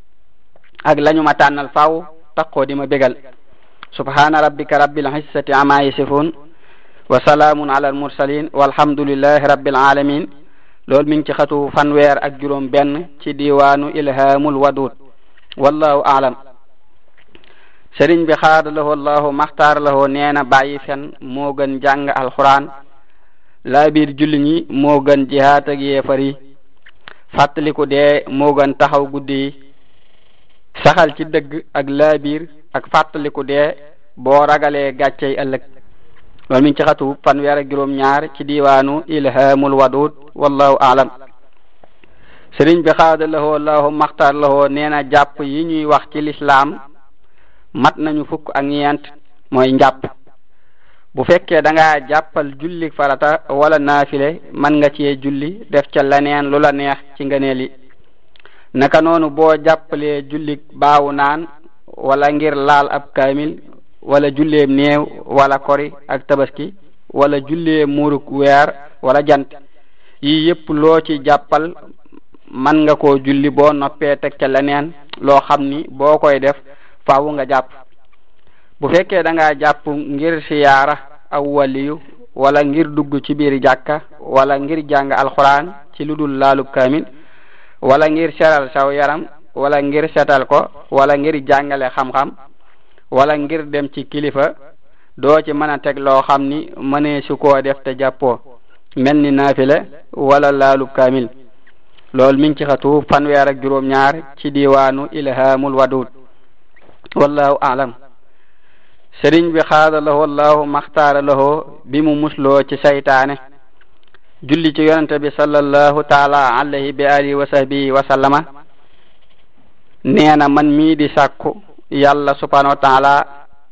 subhana rabbika rabbil izzati amma yasifun wa salaamun ala al mursalin walhamdulillahi rabbil alamin loolu mi ngi ci xatu fanweer ak juróom benn ci diwaanu ilhamul wadud wallahu aalam sëriñ bi xaadalahoo allahu maxtaar lahoo nee na bàyyi fen moo gën jàng alxuraan laa biir julli ñi moo gën jihaat ak yéefar yi fàttaliku dee moo gën taxaw guddi yi saxal ci dëgg ak laa biir ak fàttaliku dee boo ragalee gàccey ëllëg loolu mi ngi ci xatu fanweer ak juróom ñaar ci diwaanu ilhamul wadud wallahu aalam sëriñ bi xaadalahoo allahu maxtaar lahoo nee na jàpp yi ñuy wax ci lislaam mat nañu fukk ak ñeent mooy njàpp bu fekkee da nga jàppal julli farata wala naafile man nga cee julli def ca leneen lu la neex ci ngëneel yi naka noonu boo jàppalee julli baawu naan wala ngir laal ab kaamil wala julleem néew wala kori ak tabaski wala jullee muuruk weer wala jant yi yépp loo ci jàppal man nga koo julli boo noppee teg ca leneen loo xam ni boo koy def faawu nga jàpp bu fekkee da nga jàpp ngir siyaara aw waliyu wala ngir dugg ci biir jàkka wala ngir jàng alxuraan ci lu dul laalub kaamil wala ngir seral saw yaram wala ngir setal ko wala ngir jàngale xam-xam wala ngir dem ci kilifa doo ci mën a teg loo xam ni mënee su koo def te jàppoo mel ni naafila wala laalub kaamil loolu mi ngi ci xatu fanweer ak juróom-ñaar ci diwaanu ilhamul wadud wallahu a'lam. sëriñ bi xaada lahu wallahu maxtaara lahu bi mu musloo ci saytaane julli ci yonente bi sallallahu taala alayhi bi alihi wa sahbihi wa sallama nee na man mii di sàkku yàlla subhanahu wa taala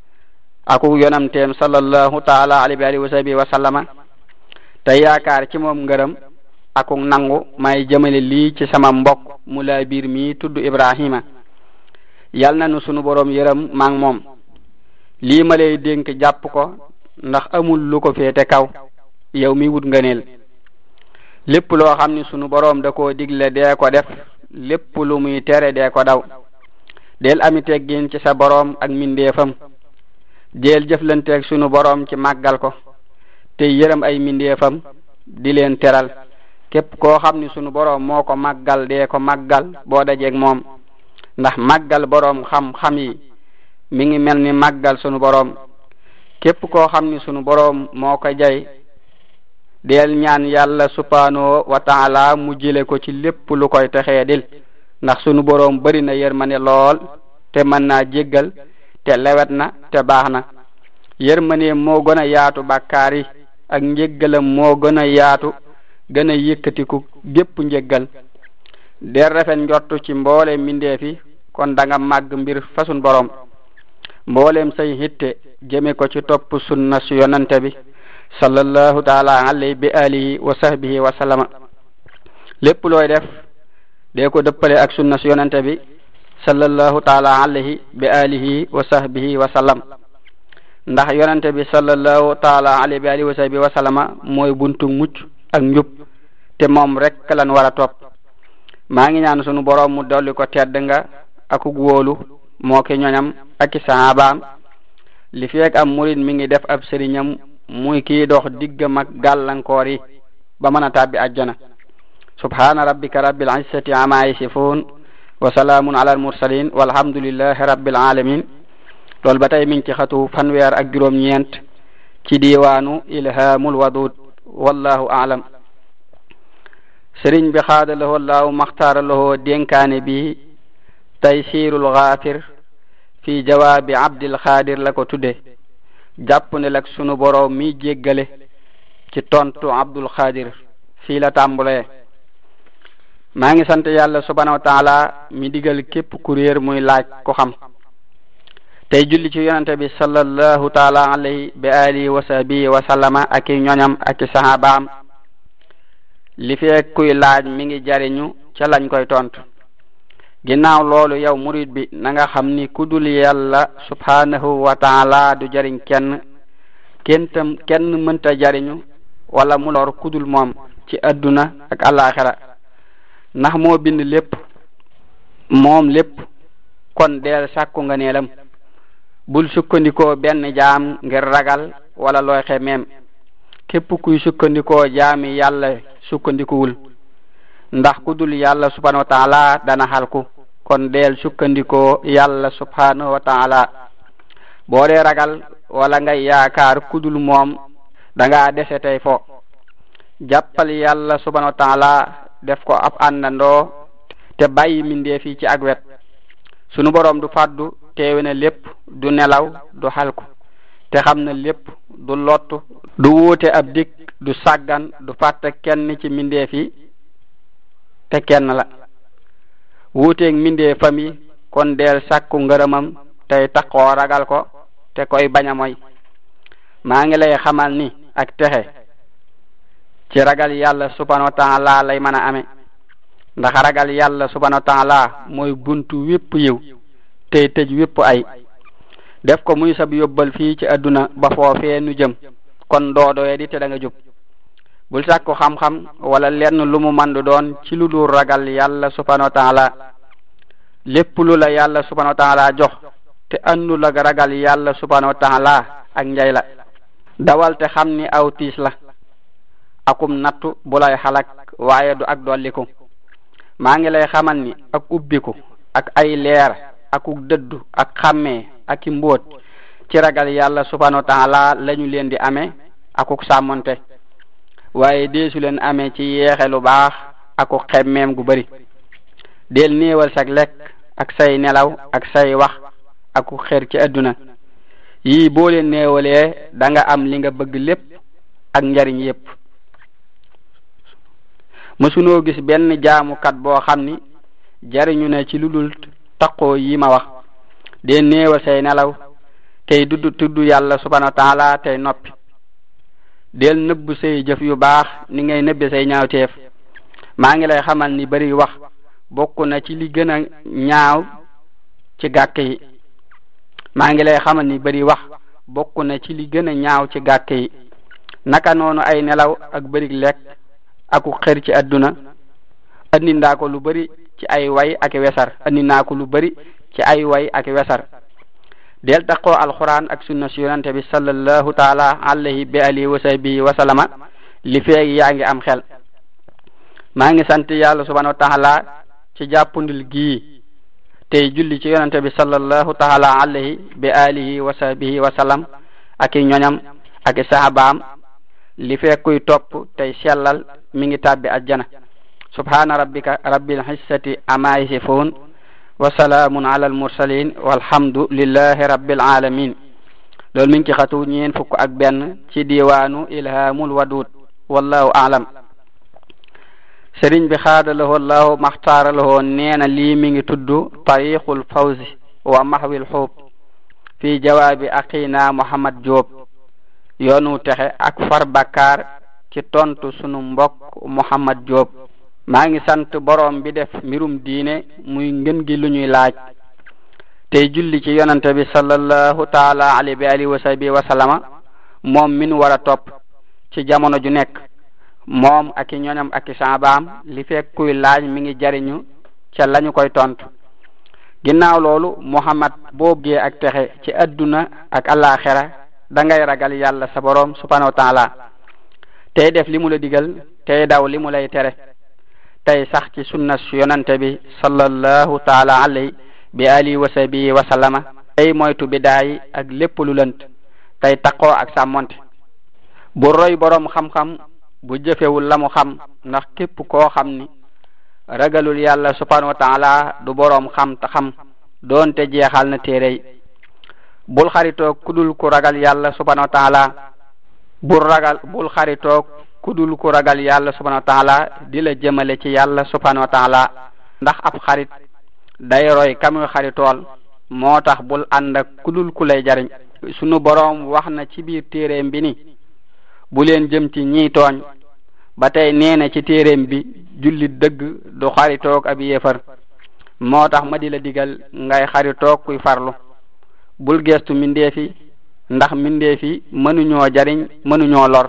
aku yonamteem sallallahu taala alayhi bi alihi wa sahbihi wa sallama te yaakaar ci moom ngërëm aku nangu may jëmale lii ci sama mbokk mu laa biir mii tudd Ibrahima yal na nu sunu boroom yërëm maa ngi moom lii ma lay dénk jàpp ko ndax amul lu ko féete kaw yow mi wut ngëneel lépp loo xam ni sunu boroom da koo digle dee ko def lépp lu muy tere dee ko daw del ami teggin ci sa boroom ak mindeefam del jëflanteeg sunu boroom ci màggal ko te yërëm ay mindeefam di leen teral képp koo xam ni sunu boroom moo ko màggal dee ko màggal boo dajeeg moom ndax màggal boroom xam-xam yi mi ngi mel ni màggal sunu boroom képp koo xam ni sunu boroom moo ko jay del ñaan yàlla subhanahu wa taala mu jële ko ci lépp lu koy texee dil ndax sunu boroom bari na yërmande lool te mën naa jéggal te lewet na te baax na yërmande moo gën a yaatu bàkkaar yi ak njéggalam moo gën a yaatu gën a yëkkatiku gépp njéggal del rafet njortu ci mboole mindeefi kon da nga màgg mbir fa sunu boroom mboolem say hitte jëme ko ci topp sunna su yonante bi sallallahu taala alayhi bi alihi wa sahbihi wa sallama lépp looy def dee ko dëppale ak sunna su yonante bi sallallahu taala alayhi bi alihi wa sahbihi wa sallam ndax yonante bi sallallahu taala alayhi bi alihi wa sahbihi wa sallama mooy buntu mucc ak njub te moom rek lan war a topp maa ngi ñaan sunu boroom mu dolli ko tedd nga ak wóolu moo ki ñoñam ak sahaabaam li feek am murid mi ngi def ab sëriñam muy kii dox diggam ak gàllankoor yi ba mën a tàbbi àjjana subhana rabbika rabbil izzati amma yasifun wa salaamun ala al mursalin walhamdulillahi rabbil alamin loolu ba tey mi ngi ci xatu fanweer ak juróom-ñeent ci diwaanu ilhamul wadud wallahu a'lam. sëriñ bi xaada lahu allahu maxtaara lahu dénkaane bi taysirul ghafir fi jawaabi abdil xaadir la ko tudde jàpp ne lak sunu boroom mi jéggale ci tontu abdul xaadir fii la tàmbulee maa ngi sant yàlla subhanahu wa taala mi digal képp ku réer muy laaj ko xam tey julli ci yonante bi sallallahu taala alayhi bi alihi wa sahbihi wa sallama ak i ñoñam ak i sahabaam li fekk kuy laaj mi ngi jariñu ca lañ koy tontu ginnaaw loolu yow murid bi na nga xam ni ku dul yàlla subhanahu wa taala du jariñ kenn mënta jariñu wala mu lor ku dul moom ci adduna ak alaxira ndax moo bind lépp moom lépp kon deel sàkku nga neelam bul sukkandikoo benn jaam ngir ragal wala looy xemeem képp kuy sukkandikoo jaami yàlla sukkandikuwul ndax ku dul yàlla subhanahu wa taala dana xalku kon deel sukkandikoo yàlla subhanahu wa taala boo dee ragal wala ngay yaakaar ku dul moom danga dese tey fo jàppal yàlla subhanahu wa taala def ko ab àndandoo te bàyyi mindee fii ci ak wet sunu boroom du fàddu teewe na lépp du nelaw du xalku te xam na lépp du lottu du wuute ab dik du sàggan du fàtte kenn ci mindee fi te kenn la wuuteeg mindee fami kon deel sàkku ngërëmam tey taxoo ragal ko te koy bañ a moy maa ngi lay xamal ni ak texe ci ragal yàlla subhanahu wa taala lay mën a amee ndax ragal yàlla subhanahu wa taala mooy buntu wépp yiw tey tëj wépp ay def ko muy sab yóbbal fii ci adduna ba foofee nu jëm kon doodoye di te da nga jub bul sàkku xam-xam wala lenn lu mu mandu doon ci lu dul ragal yàlla subhanahu wa taala lépp lu la yàlla subhanahu wa taala jox te andu la ragal yàlla subhanahu wa taala ak njay la dawal te xam ni aw tiis la akum nattu bu lay xalak waaye du ak dolliku maa ngi lay xamal ni ak ubbiku ak ay leer akuk dëddu ak xàmmee ak i mbóot ci ragal yàlla subhanahu wa taala lañu leen di amee akuk sàmmonte waaye deesu leen amee ci yeexe lu baax akuk xemmeem gu bari del néewal sag lekk ak say nelaw ak say wax akuk xer ci adduna yii boo leen néewalee da nga am li nga bëgg lépp ak njariñ yépp mësunoo gis benn jaamukat boo xam ni jariñu na ci lu dul taqoo yi ma wax dee néewal say nelaw tey tudd yàlla subhanahu wa taala tey noppi del nëbb say jëf yu baax ni ngay nëbbe say ñaawteef maa ngi lay xamal ni bari wax bokk na ci li gën a ñaaw ci gàkk yi maa ngi lay xamal ni bari wax bokk na ci li gën a ñaaw ci gàkk yi naka noonu ay nelaw ak bari lekk aku xër ci adduna andi ndaa ko lu bari ci ay way ak wesar andi naa ko lu bari ci ay way ak wesar del taqoo alquran ak sunna si yonante bi sallallahu taala alayhi bi alihi wa sahbihi wa sallama li feeg yaa ngi am xel maa ngi sant yàlla subhanahu wa taala ci jàppundil gii tey julli ci yonante bi sallallahu taala alayhi bi alihi wa sahbihi wa sallam ak i ñoñam ak i sahabaam li feeg kuy topp tey sellal mi ngi tàbbi ajjana subhana rabbika rabbil izzati amma yasifun wa salaamun ala al mursalin walhamdu lillahi rabbil alamin loolu mi ngi ci xatu ñeen fukk ak benn ci diwaanu ilhamul wadud wallahu a'lam sëriñ bi xaadalahoo allahu maxtaaralahoo neena lii mi ngi tudd tariqul fawzi wa mahwil xuub fi jawaabi aqina Muhammad Diop yoonu texe ak far bakkaar ci tontu sunu mbokk Muhammad Diop maa ngi sant borom bi def mbirum diine muy ngën gi lu ñuy laaj tey julli ci yonante bi sallallahu taala alayhi wa alihi wa sahbihi wa sallama moom min war a topp ci jamono ju nekk moom ak i ñoñam ak i saabaam li fekk kuy laaj mi ngi jariñu ca lañu koy tontu ginnaaw loolu Muhammad boo bëggee ak texe ci adduna ak alaxira da ngay ragal yàlla sa borom subhanahu wa taala tey def li mu la digal tey daw li mu lay tere tey sax ci sunna yonante bi sallallahu taala alayhi bi alihi wa sahbihi wa sallama tey moytu bidaayi ak lépp lu lënt tey taqoo ak sàmmonte bu roy borom xam-xam bu jëfewul la mu xam ndax képp koo xam ni ragalul yàlla subhanahu wa taala du borom xam ta xam doonte jeexal na téere yi bul xaritoog kudul ku ragal yàlla subhanahu wa taala bul xaritoog kudul ku ragal yàlla subhanahu wa taala di la jëmale ci yàlla subhanahu wa taala ndax ab xarit day roy kamuy xaritool moo tax bul ànd ak kudul ku lay jariñ sunu boroom wax na ci biir téereem bi ni bu leen jëm ci ñiy tooñ ba tey nee na ci téereem bi jullit dëgg du xaritoog ab yéefar moo tax ma di la digal ngay xaritoog kuy farlu bul gestu mindeefi ndax mindeefi mënuñoo jariñ mënuñoo lor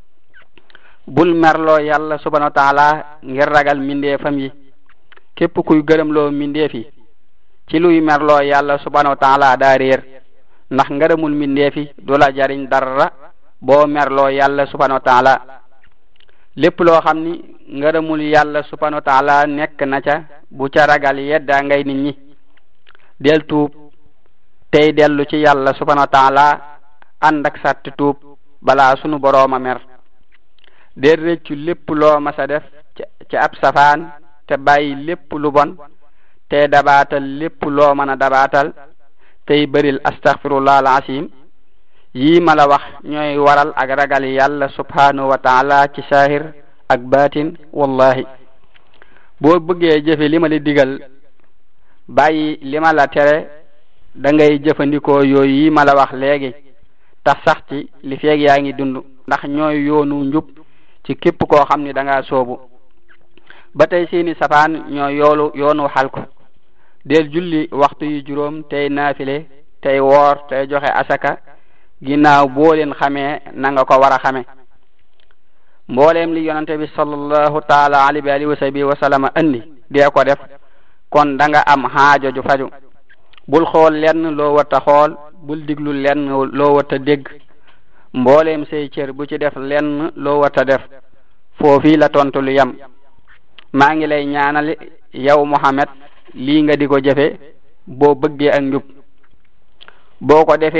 bul merloo yàlla subhanahu wa taala ngir ragal mindeefam yi képp kuy gërëmloo mindeefi ci luy merloo yàlla subhanahu wa taala daa réer ndax ngërëmul mindeefi du la jariñ dara boo merloo yàlla subhanahu wa taala lépp loo xam ni ngërëmul yàlla subhanahu wa taala nekk na ca bu ca ragal yeddaa ngay nit ñi del tuub tey dellu ci yàlla subhanahu wa taala ànd ak sàtti tuub balaa sunu borooma mer del réccu lépp loo masa def ci ab safaan te bàyyi lépp lu bon te dabaatal lépp loo mën a dabaatal tey bëril astaghfirullah al-azim yii ma la wax ñooy waral ak ragal yàlla subhanahu wa taala ci saahir ak baatin wallahi boo bëggee jëfe li ma la digal bàyyi li ma la tere da ngay jëfandikoo yooyu yi ma la wax léegi tax sax ci li feeg yaa ngi dund ndax ñooy yoonu njub ci képp koo xam ni da ngaa soobu ba tey seeni safaan ñooy yoonu xalku del julli waxtu yu juróom tey naafile tey woor tey joxe asaka ginnaaw boo leen xamee na nga ko war a xame mbooleem li yonante bi sallallahu taala alayhi wa sahbihi wa sallama andi dee ko def kon da nga am xaajo ju faju bul xool lenn loo warta xool bul diglu lenn loo warta dégg mbooleem say cër bu ci def lenn loo warta def foofii la tontu lu yam maa ngi lay ñaanal yow Muhammad lii nga di ko jëfe boo bëggee ak njub boo ko defee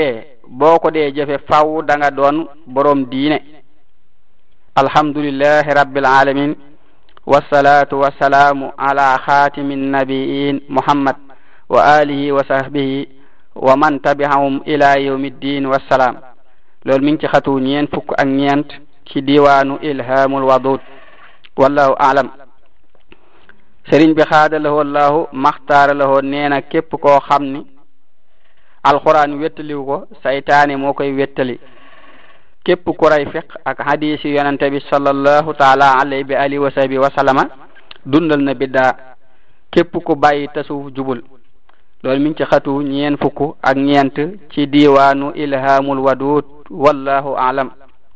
boo ko dee jëfe faw da nga doon borom diine. alhamdulillahi rabbil alamin wassalatu wassalaamu ala xaatimin nabiyin muhammad wa alihi wa sahbihi wa man tabi'ahum ila yawmiddin wassalaam. loolu mi ngi ci xatu ñeent fukk ak ñeent ci diwaanu ilhamul wadud. wallahu a'lam. sëriñ bi xaadalahoo allahu maxtaaralahoo nee na képp koo xam ni alquran wettaliw ko saytaane moo koy wettali. képp ku ray fiq ak hadisi yonante bi sallallahu taala alayhi bi alihi wa sahbihi wa sallama dundal na biddaa. képp ku bàyyi tasawuf jubul. loolu mi ngi ci xatu ñeen fukk ak ñeent ci diwaanu ilhamul wadud. wallahu a'lam.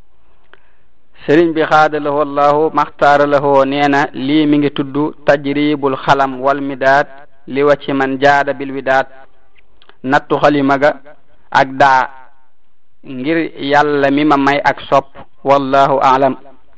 sëriñ bi xaadalahoo allahu maxtaaralahoo nee na lii mi ngi tudd tajribul xalam wal midaad li wacci man jaada bil widaad. nattu xalima ga ak daa ngir yàlla mi ma may ak sopp. wallahu a'lam.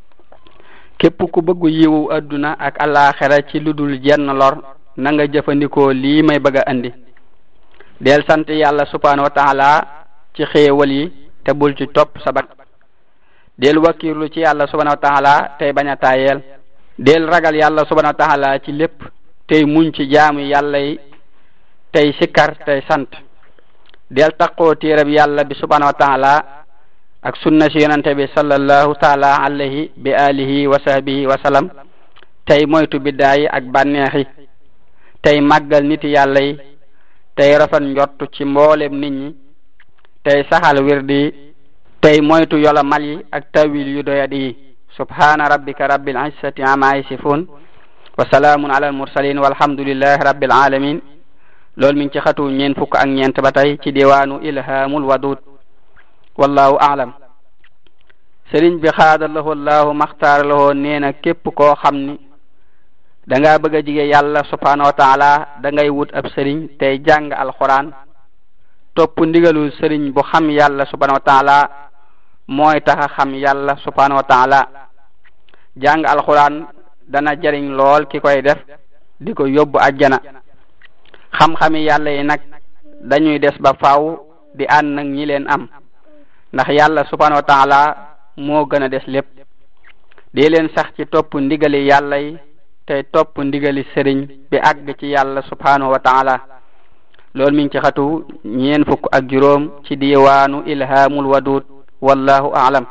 képp ku bëggu yiwu adduna ak alaxira ci ludul jenn lor na nga jëfandikoo lii may bëgg a andi. del sant yàlla subhanahu wa taala ci xéewal yi te bul ci topp sabat. del wakkirlu ci yàlla subhanahu wa taala tey bañ a taayeel. del ragal yàlla subhanahu wa taala ci lépp tey muñ ci jaamu yàlla yi tey sikkar tey sant. del taqoo téereb yàlla bi subhanahu wa taala ak sunna si yonante bi sallallahu taala alayhi bi alihi wa sahbihi wa sallam tey moytu biddaa yi ak bànneexi tey màggal niti yàlla yi tey rafet njott ci mboolem nit ñi tey saxal wirdi tey moytu yola mal yi ak tawil yu doyadi yi. subhana rabbika rabbil izzati amma yasifun wa salaamun ala al mursalin walhamdulillahi rabbil alamin. loolu mi ngi ci xatu ñeen fukk ak ñeent ba tey ci diwaanu ilhamul wadud. wallahu a'lam. sëriñ bi xaadalahoo allahu maxtaaralahoo nee na képp koo xam ni da ngaa bëgg a jige yàlla subhanahu wa taala da ngay wut ab sëriñ tey jàng alquran topp ndigalul sëriñ bu xam yàlla subhanahu wa taala mooy taxa xam yàlla subhanahu wa taala. jàng alquran dana jariñ lool ki koy def di ko yóbbu ajjana. xam-xami yàlla yi nag dañuy des ba faaw di ànd nag ñi leen am ndax yàlla subhanahu wa taala moo gën a des lépp. di leen sax ci topp ndigali yàlla yi tey topp ndigali sëriñ bi àgg ci yàlla subhanahu wa taala. loolu mi ngi ci xatu ñeen fukk ak juróom ci diwaanu ilhamul wadud. wallahu a'lam.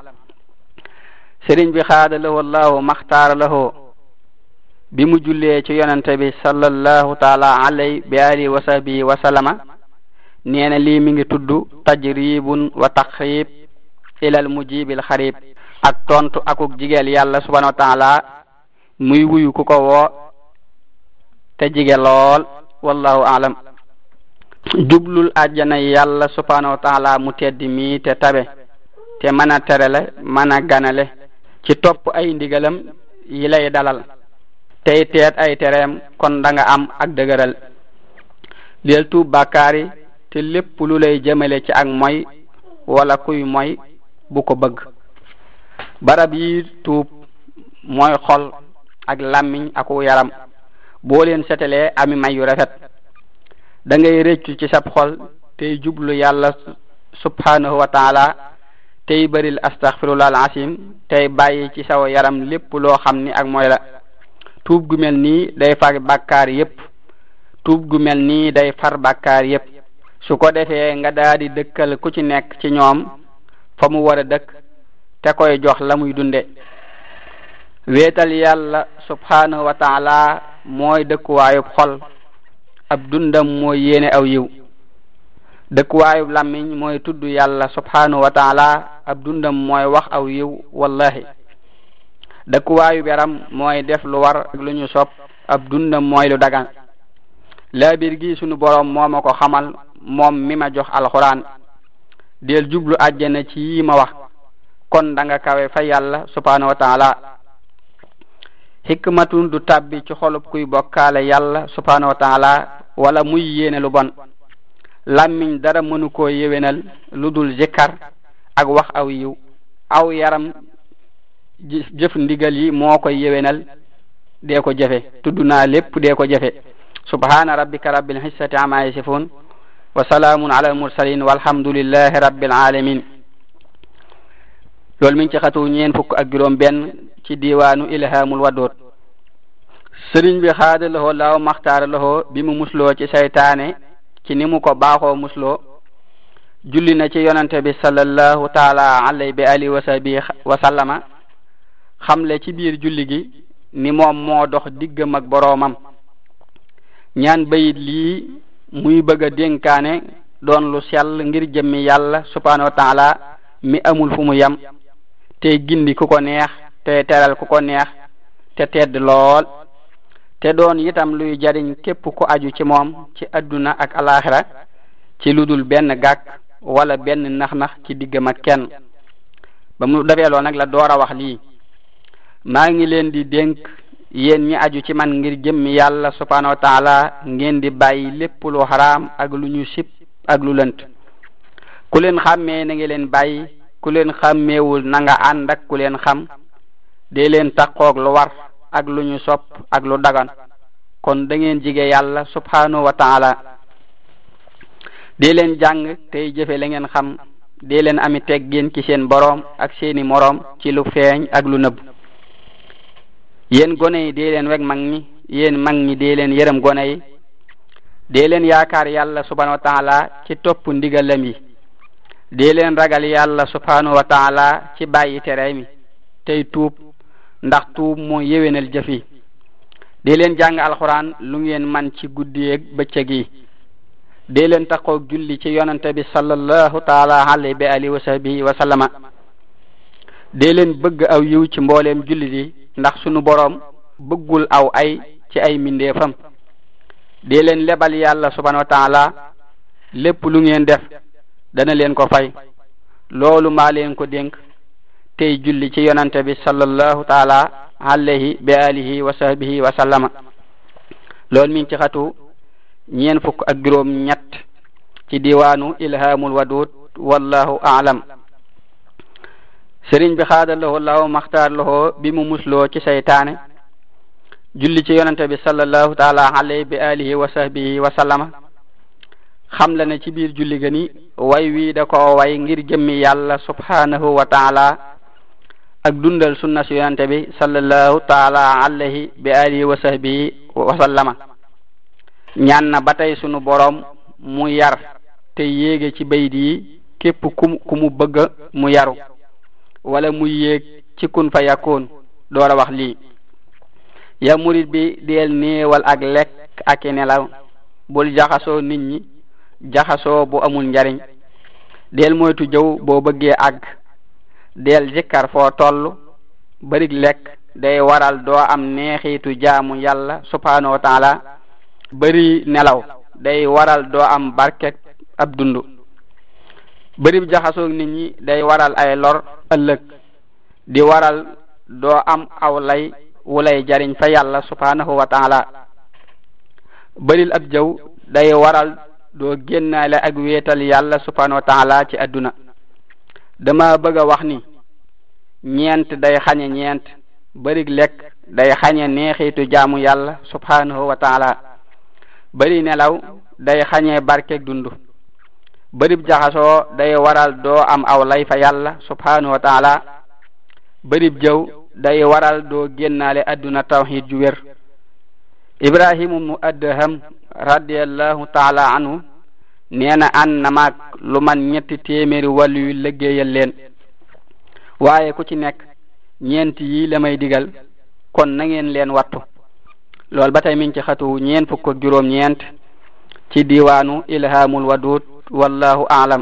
sëriñ bi xaadalahoo allahu maxtaaralahoo bi mu jullee ci yonante bi sallallahu taala alayhi bi alihi wa sahbihi wa sallama nee na lii mi ngi tudd tajribun wa taqrib ilal mujibil xarib ak tontu akuk jigeel yàlla subhanahu wa taala muy wuyu ku ko woo te jige lool. wallahu a'lam. jublul àjjana yàlla subhanahu wa taala mu teddi mi te tabe te mën a terale mën a ganale ci topp ay ndigalam yi lay dalal tey teet ay tereem kon da nga am ak dëgëral. del tuub bàkkaar yi te lépp lu lay jëmale ci ak moy wala kuy moy bu ko bëgg. barab yi tuub mooy xol ak làmmiñ ak yaram boo leen setalee ami may yu rafet da ngay rëccu ci sab xol tey jublu yàlla subhanahu wa taala tey bëril astaghfirullah al-azim tey bàyyi ci saw yaram lépp loo xam ni ak mooy la. tuub gu mel nii day far bàkkaar yépp. tuub gu mel nii day far bàkkaar yépp. su ko defee nga daadi dëkkal ku ci nekk ci ñoom fa mu war a dëkk te koy jox la muy dunde. wéetal yàlla subhanahu wa taala mooy dëkkuwaayub xol ab dundam mooy yéene aw yiw. dëkkuwaayub làmmiñ mooy tudd yàlla subhanahu wa taala ab dundam mooy wax aw yiw wallahi. dëkkuwaayub yaram mooy def lu war ak lu ñu sopp ab dundam mooy lu dagan. laabir gi sunu boroom moo ma ko xamal moom mi ma jox alxuraan. del jublu àjjana ci yi ma wax kon da nga kawe fa yàlla subhanahu wa taala. hikmatun du tabbi ci xolub kuy bokkaale yàlla subhanahu wa taala wala muy yéene lu bon. làmmiñ dara mënu koo yéwénal lu dul zikkar ak wax aw yiw. aw yaram jëf ndigal yi moo koy yéwénal dee ko jëfe. tudd naa lépp dee ko jëfe. subhana rabbika rabbil izzati amma yasifun wa salaamun ala al-mursalin walhamdulillahi rabbil alamin. loolu mi ngi ci xatu ñeen fukk ak juróom benn ci diwaanu ilhamul wadud. sëriñ bi xaada lahoo laaw maxtaara lahoo bi mu musloo ci saytaane ci ni mu ko baaxoo musloo julli na ci yonante bi sallallahu taala alayhi bi alihi wa sahbihi wa sallama xamle ci biir julli gi ni moom moo dox diggam ak boroomam. ñaan bayit lii muy bëgg a dénkaane doon lu sell ngir jëmmi yàlla subhanahu wa taala mi amul fu mu yem te gindi ku ko neex te teral ku ko neex te tedd lool te doon itam luy jariñ képp ku aju ci moom ci adduna ak alaxira ci ludul benn gàkk wala benn nax-nax ci diggam ak kenn. ba mu defee lool nag la door a wax lii: maa ngi leen di dénk yéen ñi aju ci man ngir jëmmi yàlla subhanahu wa taala ngeen di bàyyi lépp lu xaraam ak lu ñu sib ak lu lënt. ku leen xàmmee na nga leen bàyyi, ku leen xàmmeewul na nga ànd ak ku leen xam. dee leen taqoog lu war ak lu ñu sopp ak lu dagan, kon da ngeen jige yàlla subhanahu wa taala. dee leen jàng tey jëfe la ngeen xam, dee leen ami teggin ci seen boroom ak seeni moroom ci lu feeñ ak lu nëbb. yéen gone yi dee leen weg mag ñi, yéen mag ñi dee leen yërëm gone yi. dee leen yaakaar yàlla subhanahu wa taala ci topp ndigalam yi. dee leen ragal yàlla subhanahu wa taala ci bàyyi tere mi tey tuub, ndax tuub moo yéwénal jëf yi. dee leen jàng alxuraan lu ngeen man ci guddi ak bëccëg yi. dee leen taqoog julli ci yonante bi sallallahu taala alayhi bi alihi wa sahbihi wa sallama. dee leen bëgg aw yiw ci mbooleem jullit yi, ndax sunu boroom bëggul aw ay ci ay mindeefam. dee leen lebal yàlla subhanahu wa taala lépp lu ngeen def dana leen ko fay. loolu maa leen ko dénk tey julli ci yonante bi sallallahu taala alayhi bi alihi wa sahbihi wa sallama. loolu mi ngi ci xatu ñeen fukk ak juróom ñett ci diwaanu ilhamul wadud wallahu a'lam. sëriñ bi xaada lahoo laaw maxtaar lahoo bi mu musloo ci saytaane julli ci yonante bi sallallahu taala alayhi bi alihi wa sahbihi wa sallama. xam la ne ci biir julli ga ni way wi da ko way ngir jëmmi yàlla subhanahu wa taala ak dundal sunna si yonante bi sallallahu taala alayhi bi alihi wa sahbihi wa sallama. ñaan na ba tey sunu boroom mu yar te yéege ci bayit yi képp ku mu bëgg mu yaru wala mu yéeg ci kun fa yakun. door a wax lii: ya murid bi deel néewal ak lekk ak i nelaw, bul jaxasoo nit ñi jaxasoo bu amul njariñ. deel moytu jëw boo bëggee àgg, deel zikkar foo toll. barig lekk day waral doo am neexitu jaamu yàlla subhanahu wa taala. bari nelaw day waral doo am barket ab dundu. bari jaxasoo nit ñi day waral ay lor ëllëg, di waral doo am aw lay wulay jariñ fa yàlla subhanahu wa taala. baril ab jëw day waral doo génnaale ak wéetal yàlla subhanahu wa taala ci adduna. dama bëgg a wax ni ñeent day xañe ñeent. barig lekk day xañe neexitu jaamu yàlla subhanahu wa taala. bari nelaw day xañe barkeeg dundu. barib jaxasoo day waral doo am aw lay fa yàlla subhanahu wa taala. barib jëw day waral doo génnaale adduna tawhid ju wér. Ibrahim ibnu Adham radiyallahu taala anhu nee na ànd na maag lu man 300 wàllu yu liggéeyal leen, waaye ku ci nekk ñeent yi la may digal, kon na ngeen leen wattu. loolu ba tey mi ngi ci xatu ñeen fukk ak juróom ñeent ci diwaanu ilhamul wadud wallahu a'lam.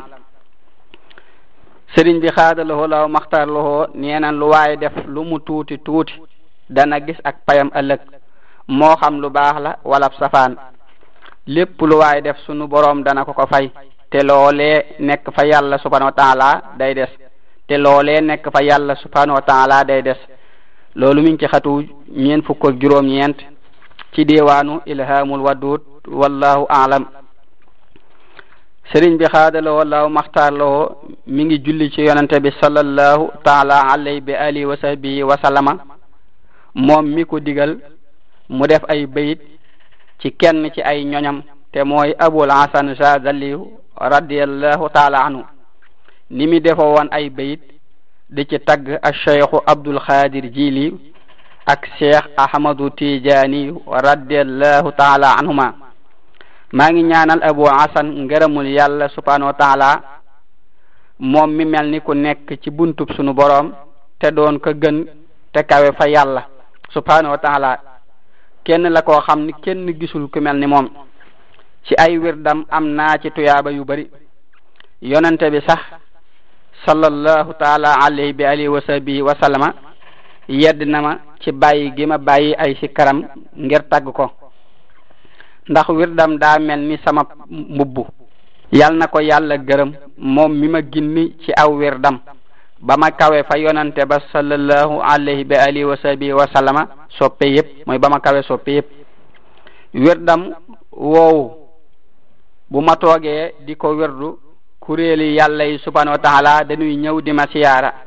sëriñ bi xaada lahoo laaw maxtaar lahoo nee na lu waaye def lu mu tuuti tuuti dana gis ak payam ëllëg, moo xam lu baax la wala safaan. lépp lu waaye def sunu boroom dana ko fay, te loolee nekk fa yàlla subhanahu wa taala day des. te loolee nekk fa yàlla subhanahu wa taala day des. loolu mi ngi ci xatu ñeen fukk ak juróom ñeent ci diwaanu ilhamul wadud wallahu a'lam. sëriñ bi xaadaloo wallahu maxtaar loo mi ngi julli ci yonante bi sallallahu taala alayhi bi alihi wa sahbihi wa sallama. moom mi ko digal mu def ay bayit ci kenn ci ay ñoñam te mooy Abul Hasan Chazali radiyallahu taala anhu ni mi defo woon ay bayit di ci tagg ak cheikhu Abdul Xaadir Jili ak cheikh Ahmadu Tijaani radiyallahu taala anhuma. maa ngi ñaanal Abu Hasan ngërëmul yàlla subhanahu wa taala moom mi mel ni ku nekk ci buntub sunu boroom te doon ko gën te kawe fa yàlla subhanahu wa taala. kenn la koo xam ni kenn gisul ku mel ni moom. ci ay wirdam am naa ci tuyaaba yu bari. yonente bi sax sallallahu taala alayhi bi alihi wa sahbihi wa sallama yedd na ma ci bàyyi gi ma bàyyi ay sikkaram ngir tagg ko, ndax wirdam daa mel ni sama mbubb. yal na ko yàlla gërëm moom mi ma ginni ci aw wirdam ba ma kawe fa yonante ba sallallahu alayhi bi alihi wa sahbihi wa sallama soppe yépp, mooy ba ma kawe soppe yépp. wirdam woowu bu ma toogee di ko wirdu kuréeli yàlla yi subhanahu wa taala dañuy ñëw di ma siyaara